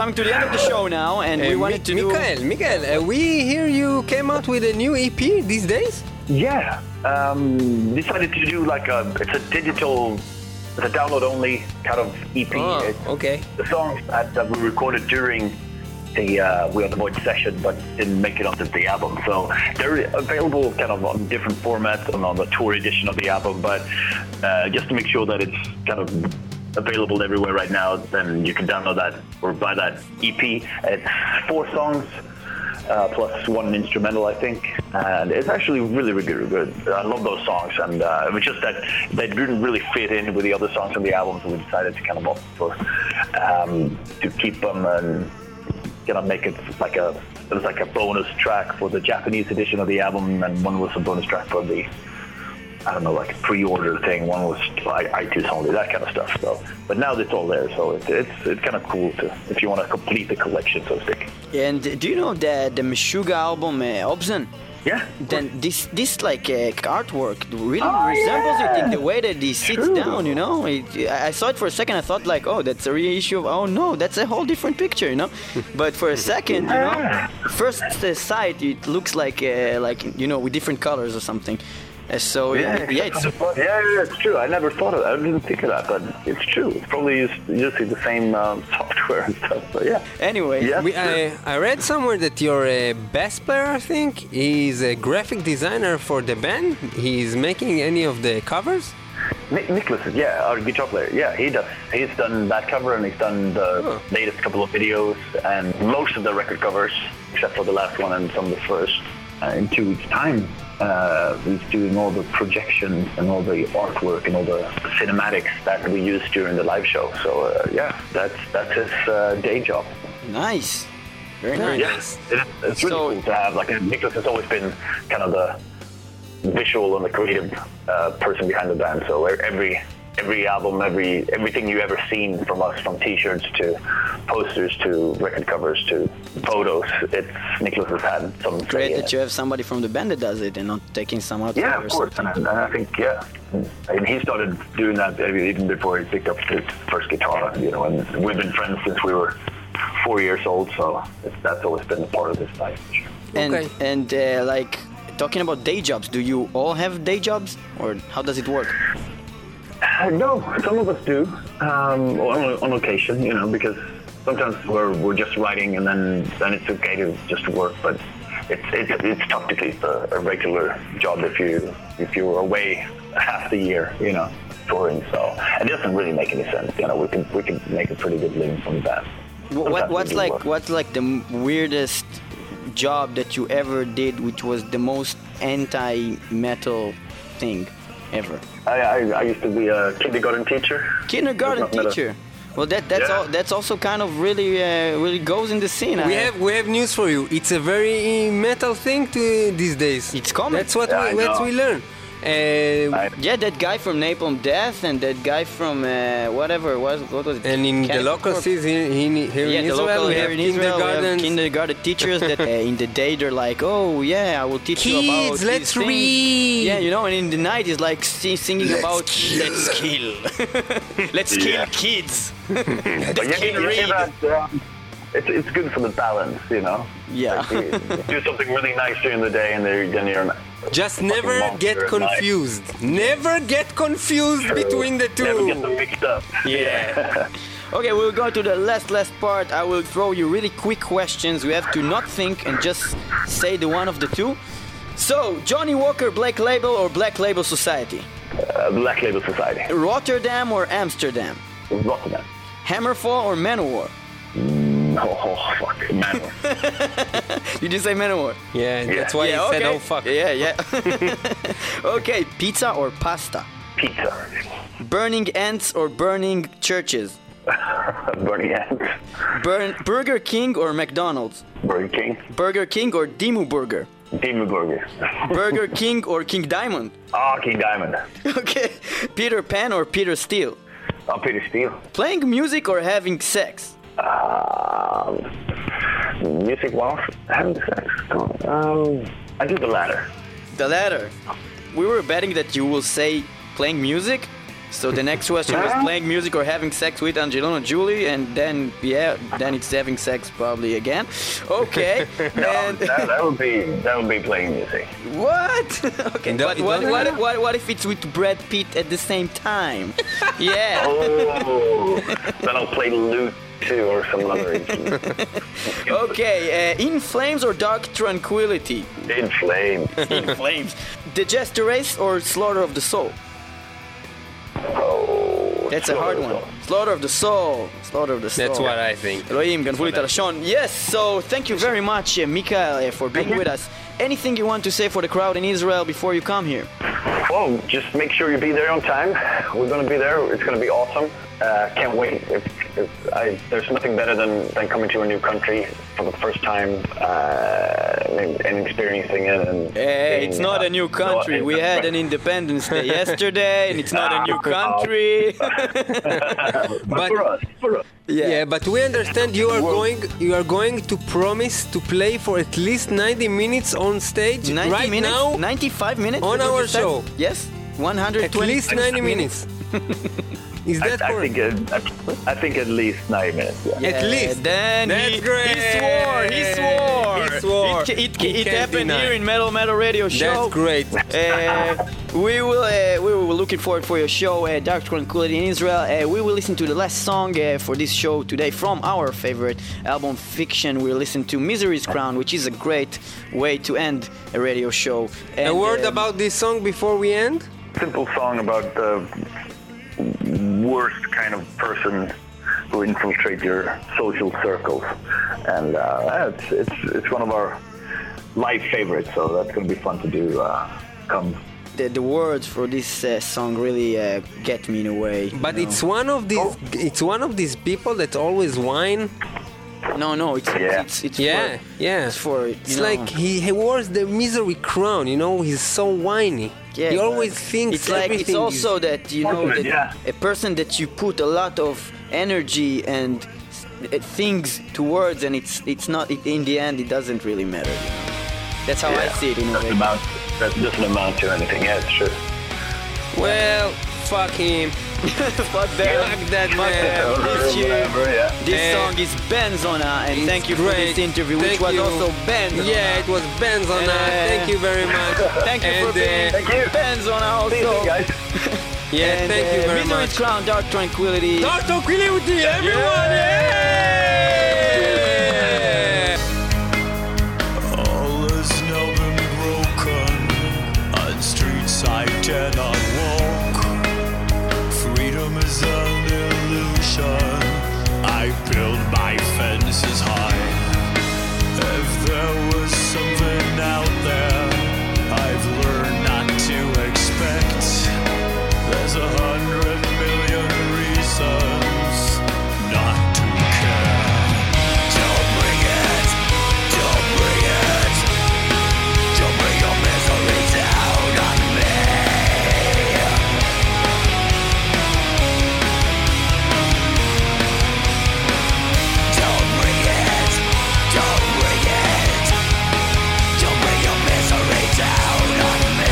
[SPEAKER 2] coming to the end of the show now, and we
[SPEAKER 6] Uh,
[SPEAKER 2] wanted to do...
[SPEAKER 6] Mikael, Mikael, uh, we hear you came out with a new E P these days?
[SPEAKER 1] Yeah, um, decided to do like a, it's a digital, it's a download-only kind of E P.
[SPEAKER 6] Oh,
[SPEAKER 1] It's
[SPEAKER 6] okay.
[SPEAKER 1] the songs that, that we recorded during the uh, We Are the Void session, but didn't make it onto the album. So they're available kind of on different formats and on the tour edition of the album, but uh, just to make sure that it's kind of available everywhere right now, then you can download that or buy that E P. It's four songs, Uh, plus one instrumental, I think, and it's actually really, really good. I love those songs, and uh, it was just that they didn't really fit in with the other songs on the album, so we decided to kind of opt for um, to keep them and kind of make it like a it was like a bonus track for the Japanese edition of the album, and one was a bonus track for the I don't know, like pre-order thing. One was like iTunes only, that kind of stuff. So, but now it's all there, so it, it's it's kind of cool to if you want to complete the collection, so to speak.
[SPEAKER 2] And do you know the the Meshuggah album, uh, Obzen?
[SPEAKER 1] Yeah.
[SPEAKER 2] Then this this like uh, artwork really
[SPEAKER 1] Oh,
[SPEAKER 2] resembles
[SPEAKER 1] yeah.
[SPEAKER 2] it in the way that he sits
[SPEAKER 1] True.
[SPEAKER 2] down, you know. It, I saw it for a second. I thought like, oh, that's a reissue of. Oh no, that's a whole different picture, you know. But for a second, you know, first uh, sight, it looks like uh, like you know with different colors or something. Uh, so
[SPEAKER 1] Yeah,
[SPEAKER 2] yeah, yeah, it's
[SPEAKER 1] yeah, yeah, it's true. I never thought of that. I didn't think of that, but it's true. It's probably just, using the same um, software and stuff. But yeah.
[SPEAKER 2] anyway.
[SPEAKER 1] Yeah.
[SPEAKER 6] We, I, I read somewhere that your uh, bass player, I think, is a graphic designer for the band. He's making any of the covers?
[SPEAKER 1] Ni- Nicholas, is- yeah, our guitar player. Yeah, he does. He's done that cover, and he's done the
[SPEAKER 6] Oh.
[SPEAKER 1] latest couple of videos, and most of the record covers, except for the last one and some of the first. Uh, in two weeks' time, uh, he's doing all the projections and all the artwork and all the cinematics that we use during the live show. So uh, yeah, that's that's his uh, day job.
[SPEAKER 2] Nice, very nice.
[SPEAKER 1] Yeah, it, it's really
[SPEAKER 2] So-
[SPEAKER 1] cool to have. Like Nicholas has always been kind of the visual and the creative uh, person behind the band. So every every album, every everything you ever seen from us, from T-shirts to posters to record covers to photos, it's Nicholas has had some.
[SPEAKER 2] Great
[SPEAKER 1] say in
[SPEAKER 2] that
[SPEAKER 1] it.
[SPEAKER 2] you have somebody from the band that does it and not taking some outside
[SPEAKER 1] Yeah,
[SPEAKER 2] or
[SPEAKER 1] of course,
[SPEAKER 2] something.
[SPEAKER 1] and, and I think yeah, and he started doing that even before he picked up his first guitar. You know, and we've been friends since we were four years old, so it's, that's always been a part of this life. For sure.
[SPEAKER 2] And
[SPEAKER 6] Okay.
[SPEAKER 2] and uh, like talking about day jobs, do you all have day jobs or how does it work?
[SPEAKER 1] Uh, no, some of us do um, on, on occasion, you know, because sometimes we're we're just writing and then then it's okay to just work, but it's it's it's tough to keep a, a regular job if you if you're away half the year, you know, touring. So it doesn't really make any sense. You know, we can we can make a pretty good living from that.
[SPEAKER 2] Wh-
[SPEAKER 1] Sometimes
[SPEAKER 2] What
[SPEAKER 1] we
[SPEAKER 2] what's
[SPEAKER 1] do
[SPEAKER 2] like
[SPEAKER 1] work.
[SPEAKER 2] what's like the m- weirdest job that you ever did, which was the most anti-metal thing ever?
[SPEAKER 1] I, I I used to be a kindergarten teacher.
[SPEAKER 2] Kindergarten
[SPEAKER 1] That's not metal.
[SPEAKER 2] teacher. Well, that that's
[SPEAKER 1] Yeah.
[SPEAKER 2] all. That's also kind of really uh, really goes in the scene.
[SPEAKER 6] We
[SPEAKER 2] I-
[SPEAKER 6] have we have news for you. It's a very metal thing to these days.
[SPEAKER 2] It's common.
[SPEAKER 6] That's what
[SPEAKER 1] Yeah,
[SPEAKER 6] we
[SPEAKER 1] I
[SPEAKER 6] what
[SPEAKER 1] know.
[SPEAKER 6] we learn. Uh,
[SPEAKER 1] I-
[SPEAKER 2] Yeah, that guy from Napalm Death and that guy from uh, whatever was what was it?
[SPEAKER 6] and in the
[SPEAKER 2] Cannibal
[SPEAKER 6] local
[SPEAKER 2] Corpse.
[SPEAKER 6] cities here, in, here
[SPEAKER 2] Yeah,
[SPEAKER 6] in
[SPEAKER 2] the
[SPEAKER 6] Israel,
[SPEAKER 2] local
[SPEAKER 6] we
[SPEAKER 2] here
[SPEAKER 6] have
[SPEAKER 2] in Israel, we have
[SPEAKER 6] kindergartens.
[SPEAKER 2] kindergarten teachers that uh, in the day they're like, oh yeah, I will teach you about
[SPEAKER 6] Kids,
[SPEAKER 2] these
[SPEAKER 6] let's
[SPEAKER 2] things."
[SPEAKER 6] read.
[SPEAKER 2] Yeah, you know, and in the night is like si- singing
[SPEAKER 6] Let's
[SPEAKER 2] about
[SPEAKER 6] kill.
[SPEAKER 2] let's kill, let's kill
[SPEAKER 1] Yeah.
[SPEAKER 2] kids.
[SPEAKER 1] But you,
[SPEAKER 2] can
[SPEAKER 1] you hear
[SPEAKER 2] read.
[SPEAKER 1] that, um, it's, it's good for the balance, you know?
[SPEAKER 2] Yeah.
[SPEAKER 1] Like, you do something really nice during the day and then then you're...
[SPEAKER 6] Just
[SPEAKER 1] fucking
[SPEAKER 6] never
[SPEAKER 1] monster
[SPEAKER 6] get
[SPEAKER 1] at night.
[SPEAKER 6] confused. Never get confused between the two.
[SPEAKER 1] Never get them mixed up.
[SPEAKER 2] Yeah. Okay, we'll go to the last last part. I will throw you really quick questions. You have to not think and just say the one of the two. So, Johnny Walker, Black Label or Black Label Society?
[SPEAKER 1] Uh, Black Label Society.
[SPEAKER 2] Rotterdam or Amsterdam?
[SPEAKER 1] Rotterdam.
[SPEAKER 2] Hammerfall or Manowar?
[SPEAKER 1] Oh, oh fuck. Man.
[SPEAKER 2] Did you say Manowar?
[SPEAKER 6] Yeah, that's why
[SPEAKER 2] yeah,
[SPEAKER 6] he
[SPEAKER 2] okay.
[SPEAKER 6] said, "Oh fuck."
[SPEAKER 2] Yeah, yeah. Okay, pizza or pasta?
[SPEAKER 1] Pizza.
[SPEAKER 2] Burning ants or burning churches?
[SPEAKER 1] Burning Ants.
[SPEAKER 2] Burn Burger King or McDonald's?
[SPEAKER 1] Burger King.
[SPEAKER 2] Burger King or Dimu Burger?
[SPEAKER 1] Demon Burger.
[SPEAKER 2] Burger King or King Diamond?
[SPEAKER 1] Ah, King Diamond.
[SPEAKER 2] Okay, Peter Pan or Peter Steele?
[SPEAKER 1] Oh, Peter Steele.
[SPEAKER 2] Playing music or having sex?
[SPEAKER 1] Um, music while having sex. Um, I do the latter.
[SPEAKER 2] The latter. We were betting that you will say playing music, So the next question was playing music or having sex with Angelina Jolie, and then yeah, then it's having sex probably again. Okay.
[SPEAKER 1] No,
[SPEAKER 2] and
[SPEAKER 1] that, that would be that would be playing music.
[SPEAKER 2] what? Okay.
[SPEAKER 6] No,
[SPEAKER 2] But
[SPEAKER 6] it
[SPEAKER 2] what,
[SPEAKER 6] doesn't
[SPEAKER 2] what,
[SPEAKER 6] matter.
[SPEAKER 2] what, what if it's with Brad Pitt at the same time? Yeah.
[SPEAKER 1] Oh, then I'll play lute too or some other instrument.
[SPEAKER 2] Okay. Uh, In Flames or Dark Tranquility?
[SPEAKER 1] In flames.
[SPEAKER 2] In Flames. The Jester Race or Slaughter of the Soul?
[SPEAKER 1] Oh,
[SPEAKER 2] That's a hard one. Slaughter of the Soul. Slaughter of the Soul.
[SPEAKER 6] That's what I think.
[SPEAKER 2] אלוהים, גנבו לי את הלשון. Yes, so thank you very much, uh, Mikael, uh, for being with us. Anything you want to say for the crowd in Israel before you come here?
[SPEAKER 1] Well, just make sure you be there on time. We're going to be there. It's going to be awesome. Uh, can't wait. If, if I, there's nothing better than, than coming to a new country for the first time uh, and, and experiencing it. And
[SPEAKER 2] Hey,
[SPEAKER 1] being,
[SPEAKER 2] it's not
[SPEAKER 1] uh,
[SPEAKER 2] a new country.
[SPEAKER 1] so-
[SPEAKER 2] We had an Independence Day yesterday, and it's not a new country.
[SPEAKER 1] but,
[SPEAKER 6] But-
[SPEAKER 1] for us, for us.
[SPEAKER 6] Yeah. but we understand you are going you are going to promise to play for at least ninety minutes on stage
[SPEAKER 2] ninety
[SPEAKER 6] right
[SPEAKER 2] minutes?
[SPEAKER 6] now.
[SPEAKER 2] ninety-five minutes?
[SPEAKER 6] on
[SPEAKER 2] What did
[SPEAKER 6] our
[SPEAKER 2] you say?
[SPEAKER 6] show.
[SPEAKER 2] Yes, one hundred
[SPEAKER 6] At
[SPEAKER 2] twenty
[SPEAKER 6] least ninety minutes. Is
[SPEAKER 1] I,
[SPEAKER 6] that
[SPEAKER 1] I
[SPEAKER 6] correct?
[SPEAKER 1] think uh, I think at least ninety minutes. Yeah.
[SPEAKER 6] At least.
[SPEAKER 2] Then
[SPEAKER 6] That's
[SPEAKER 2] he,
[SPEAKER 6] great.
[SPEAKER 2] he swore. He swore.
[SPEAKER 6] He swore.
[SPEAKER 2] It, it,
[SPEAKER 6] He
[SPEAKER 2] it
[SPEAKER 6] can't
[SPEAKER 2] happened
[SPEAKER 6] deny.
[SPEAKER 2] here in Metal Metal Radio Show.
[SPEAKER 6] That's great.
[SPEAKER 2] Uh, we will. Uh, we were looking forward for your show, uh, Dark Tranquility in Israel. Uh, we will listen to the last song uh, for this show today from our favorite album, Fiction. We'll listen to Misery's Crown, which is a great way to end a radio show. And,
[SPEAKER 6] A word
[SPEAKER 2] um,
[SPEAKER 6] about this song before we end?
[SPEAKER 1] Simple song about the worst kind of person who infiltrate your social circles, and uh, it's it's it's one of our live favorites. So that's going to be fun to do. Uh, come.
[SPEAKER 2] the, the words for this uh, song really uh, get me in a way.
[SPEAKER 6] But
[SPEAKER 2] you know.
[SPEAKER 6] it's one of these it's one of these people that always whine.
[SPEAKER 2] no, no, it's
[SPEAKER 1] Yeah.
[SPEAKER 2] it's it's
[SPEAKER 6] Yeah,
[SPEAKER 2] for,
[SPEAKER 6] yeah.
[SPEAKER 2] it's for you
[SPEAKER 6] It's
[SPEAKER 2] know,
[SPEAKER 6] like he, he wears the misery crown, you know, he's so whiny.
[SPEAKER 2] yeah,
[SPEAKER 6] he
[SPEAKER 2] but
[SPEAKER 6] always thinks
[SPEAKER 2] it's like it's
[SPEAKER 6] everything
[SPEAKER 2] also
[SPEAKER 6] is,
[SPEAKER 2] that you know that
[SPEAKER 1] Yeah.
[SPEAKER 2] a person that you put a lot of energy and s- uh, things towards, and it's it's not it, in the end it doesn't really matter. You know? That's how I
[SPEAKER 1] Yeah.
[SPEAKER 2] see it in a
[SPEAKER 1] Doesn't
[SPEAKER 2] way.
[SPEAKER 1] amount. That doesn't amount to anything. Yeah, it's true.
[SPEAKER 6] well, fuck him.
[SPEAKER 2] Fuck that.
[SPEAKER 6] Fuck that
[SPEAKER 2] Fuck
[SPEAKER 6] man.
[SPEAKER 2] that.
[SPEAKER 1] Or
[SPEAKER 2] This year,
[SPEAKER 1] whatever, yeah.
[SPEAKER 2] this
[SPEAKER 6] Eh,
[SPEAKER 2] song is Benzona, and
[SPEAKER 6] It's
[SPEAKER 2] thank you for
[SPEAKER 6] great.
[SPEAKER 2] this interview, which
[SPEAKER 6] Thank
[SPEAKER 2] was
[SPEAKER 6] you.
[SPEAKER 2] also Benzona.
[SPEAKER 6] Yeah, it was Benzona.
[SPEAKER 2] And, uh,
[SPEAKER 6] Thank you very much.
[SPEAKER 2] Thank you
[SPEAKER 6] and,
[SPEAKER 2] for being
[SPEAKER 6] uh,
[SPEAKER 1] Thank you.
[SPEAKER 2] Benzona
[SPEAKER 1] See you
[SPEAKER 2] also.
[SPEAKER 1] guys.
[SPEAKER 6] Yeah,
[SPEAKER 2] And,
[SPEAKER 6] thank you
[SPEAKER 2] uh,
[SPEAKER 6] very
[SPEAKER 2] Misery's
[SPEAKER 6] much.
[SPEAKER 2] Crown, Dark Tranquility.
[SPEAKER 6] Dark Tranquility, everyone! Yeah!
[SPEAKER 4] All has now been broken. On streets I dare not walk. Freedom is an illusion. I build my fences high. If there was something out there I've learned not to expect, there's a hundred million reasons not to care. Don't bring it, don't bring it, don't bring your misery down on me. Don't bring it, don't bring it, don't bring your misery down on me.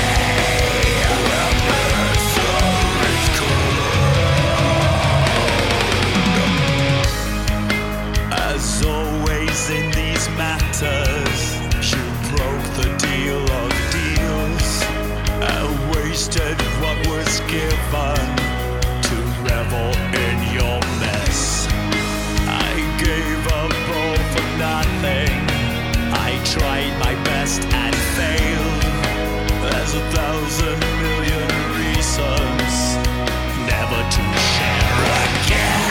[SPEAKER 4] As always in these matters, you broke the deal of deals and wasted what was given to revel in your mess. I gave up all for nothing. I tried my best and failed. There's a thousand million reasons never to share again.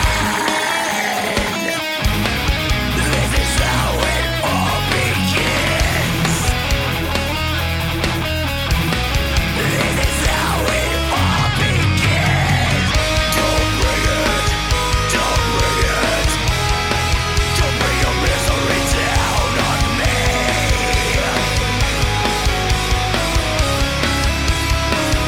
[SPEAKER 4] This is how it all begins. This is how it all begins. Don't bring it, don't bring it, don't bring your misery down on me.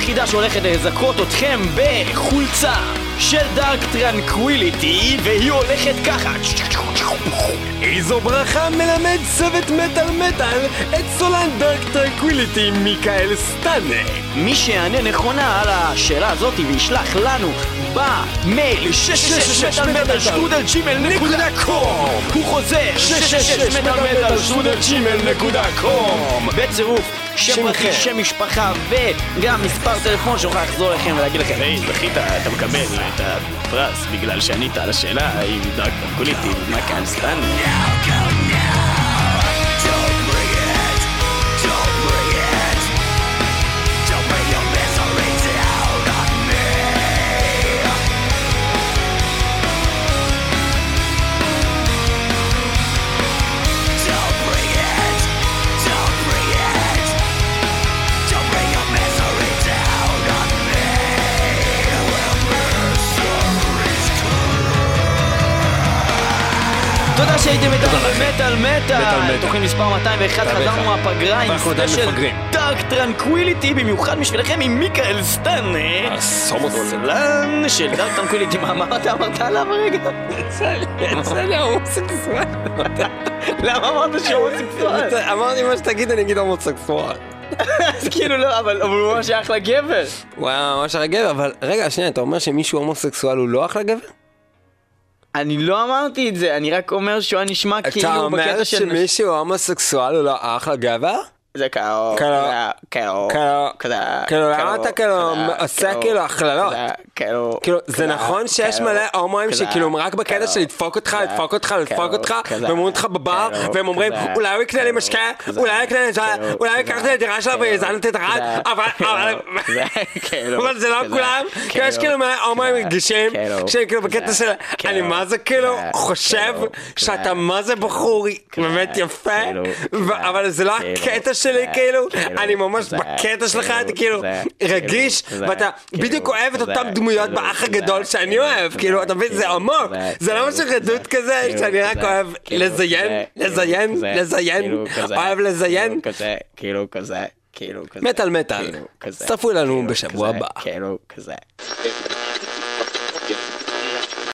[SPEAKER 2] היחידה שהולכת לזכות אתכם בחולצה של דארק טרנקוויליטי, והיא הולכת ככה.
[SPEAKER 6] איזו ברכה מלמד צוות מטל מטל את סולן דארק טרנקוויליטי מיקאל סטאנה.
[SPEAKER 2] מי שיענה נכונה על השאלה הזאת וישלח לנו במייל שש שש שש מטל מטל שטרודל ג'ימייל נקודה קום. הוא חוזר שש שש שש מטל מטל שטרודל ג'ימייל נקודה קום בצירוף שם פרטי, שם משפחה וגם מספר טלפון שנוכל לחזור לכם ולהגיד לכם היי, זכית, אתה מקבל את הפרס בגלל שענית על השאלה האם דארק טרנקוויליטי מיקאל סטאנה. תודה שהייתם איתנו במטל מטל, תוכנית מספר מאתיים ואחת, חזרנו מהפגרה עם ספיישל דארק טרנקוויליטי, במיוחד בשבילכם עם מיקאל סטאנה, סולן של דארק טרנקוויליטי. מה אתה אמרת עליו הרגע?
[SPEAKER 6] יצא לי הומוסקסואל.
[SPEAKER 2] למה אמרת שהוא הומוסקסואל?
[SPEAKER 6] אמרתי מה שתגיד, אני אגיד הומוסקסואל.
[SPEAKER 2] אז כאילו לא, אבל הוא ממש אחלה גבר.
[SPEAKER 6] וואו, ממש אחלה גבר, אבל רגע, שנייה, אתה אומר שמישהו הומוסקסואל הוא לא אחלה גבר?
[SPEAKER 2] אני לא אמרתי את זה, אני רק אומר שהוא נשמע כאילו
[SPEAKER 6] אתה אומר
[SPEAKER 2] בקטע של...
[SPEAKER 6] שמישהו הומוסקסואל הוא לא אחלה גבר?
[SPEAKER 2] זה כאילו...
[SPEAKER 6] כאילו... כאילו, למה אתה כאילו עושה כאילו הכללות? כאילו, זה נכון שיש מלא הומואים שכאילו רק בקטע של לדפוק אותך, לדפוק אותך, לדפוק אותך, והם אומרים אותך בבר, והם אומרים, אולי הוא יקנה לי משקה, אולי הוא יקנה לי... אולי הוא יקח לי לדירה שלו ויזנת את הרד, אבל זה לא כולם, כי יש כאילו מלא הומואים רגישים, שהם כאילו בקטע של... אני מה זה כאילו חושב שאתה מה זה בחור באמת יפה, אבל זה לא הקטע שלי כאילו, אני ממש בקטע שלך, אתה כאילו רגיש, ואתה בדיוק אוהב את אותם דמויות באח הגדול שאני אוהב, כאילו, אתה מבין, זה עמוק, זה לא משהו רדוד כזה, שאני רק אוהב לזיין, לזיין, לזיין, אוהב לזיין,
[SPEAKER 2] כאילו כזה, כאילו כזה,
[SPEAKER 6] מטל מטל, צפו לנו בשבוע הבא.
[SPEAKER 2] כאילו כזה.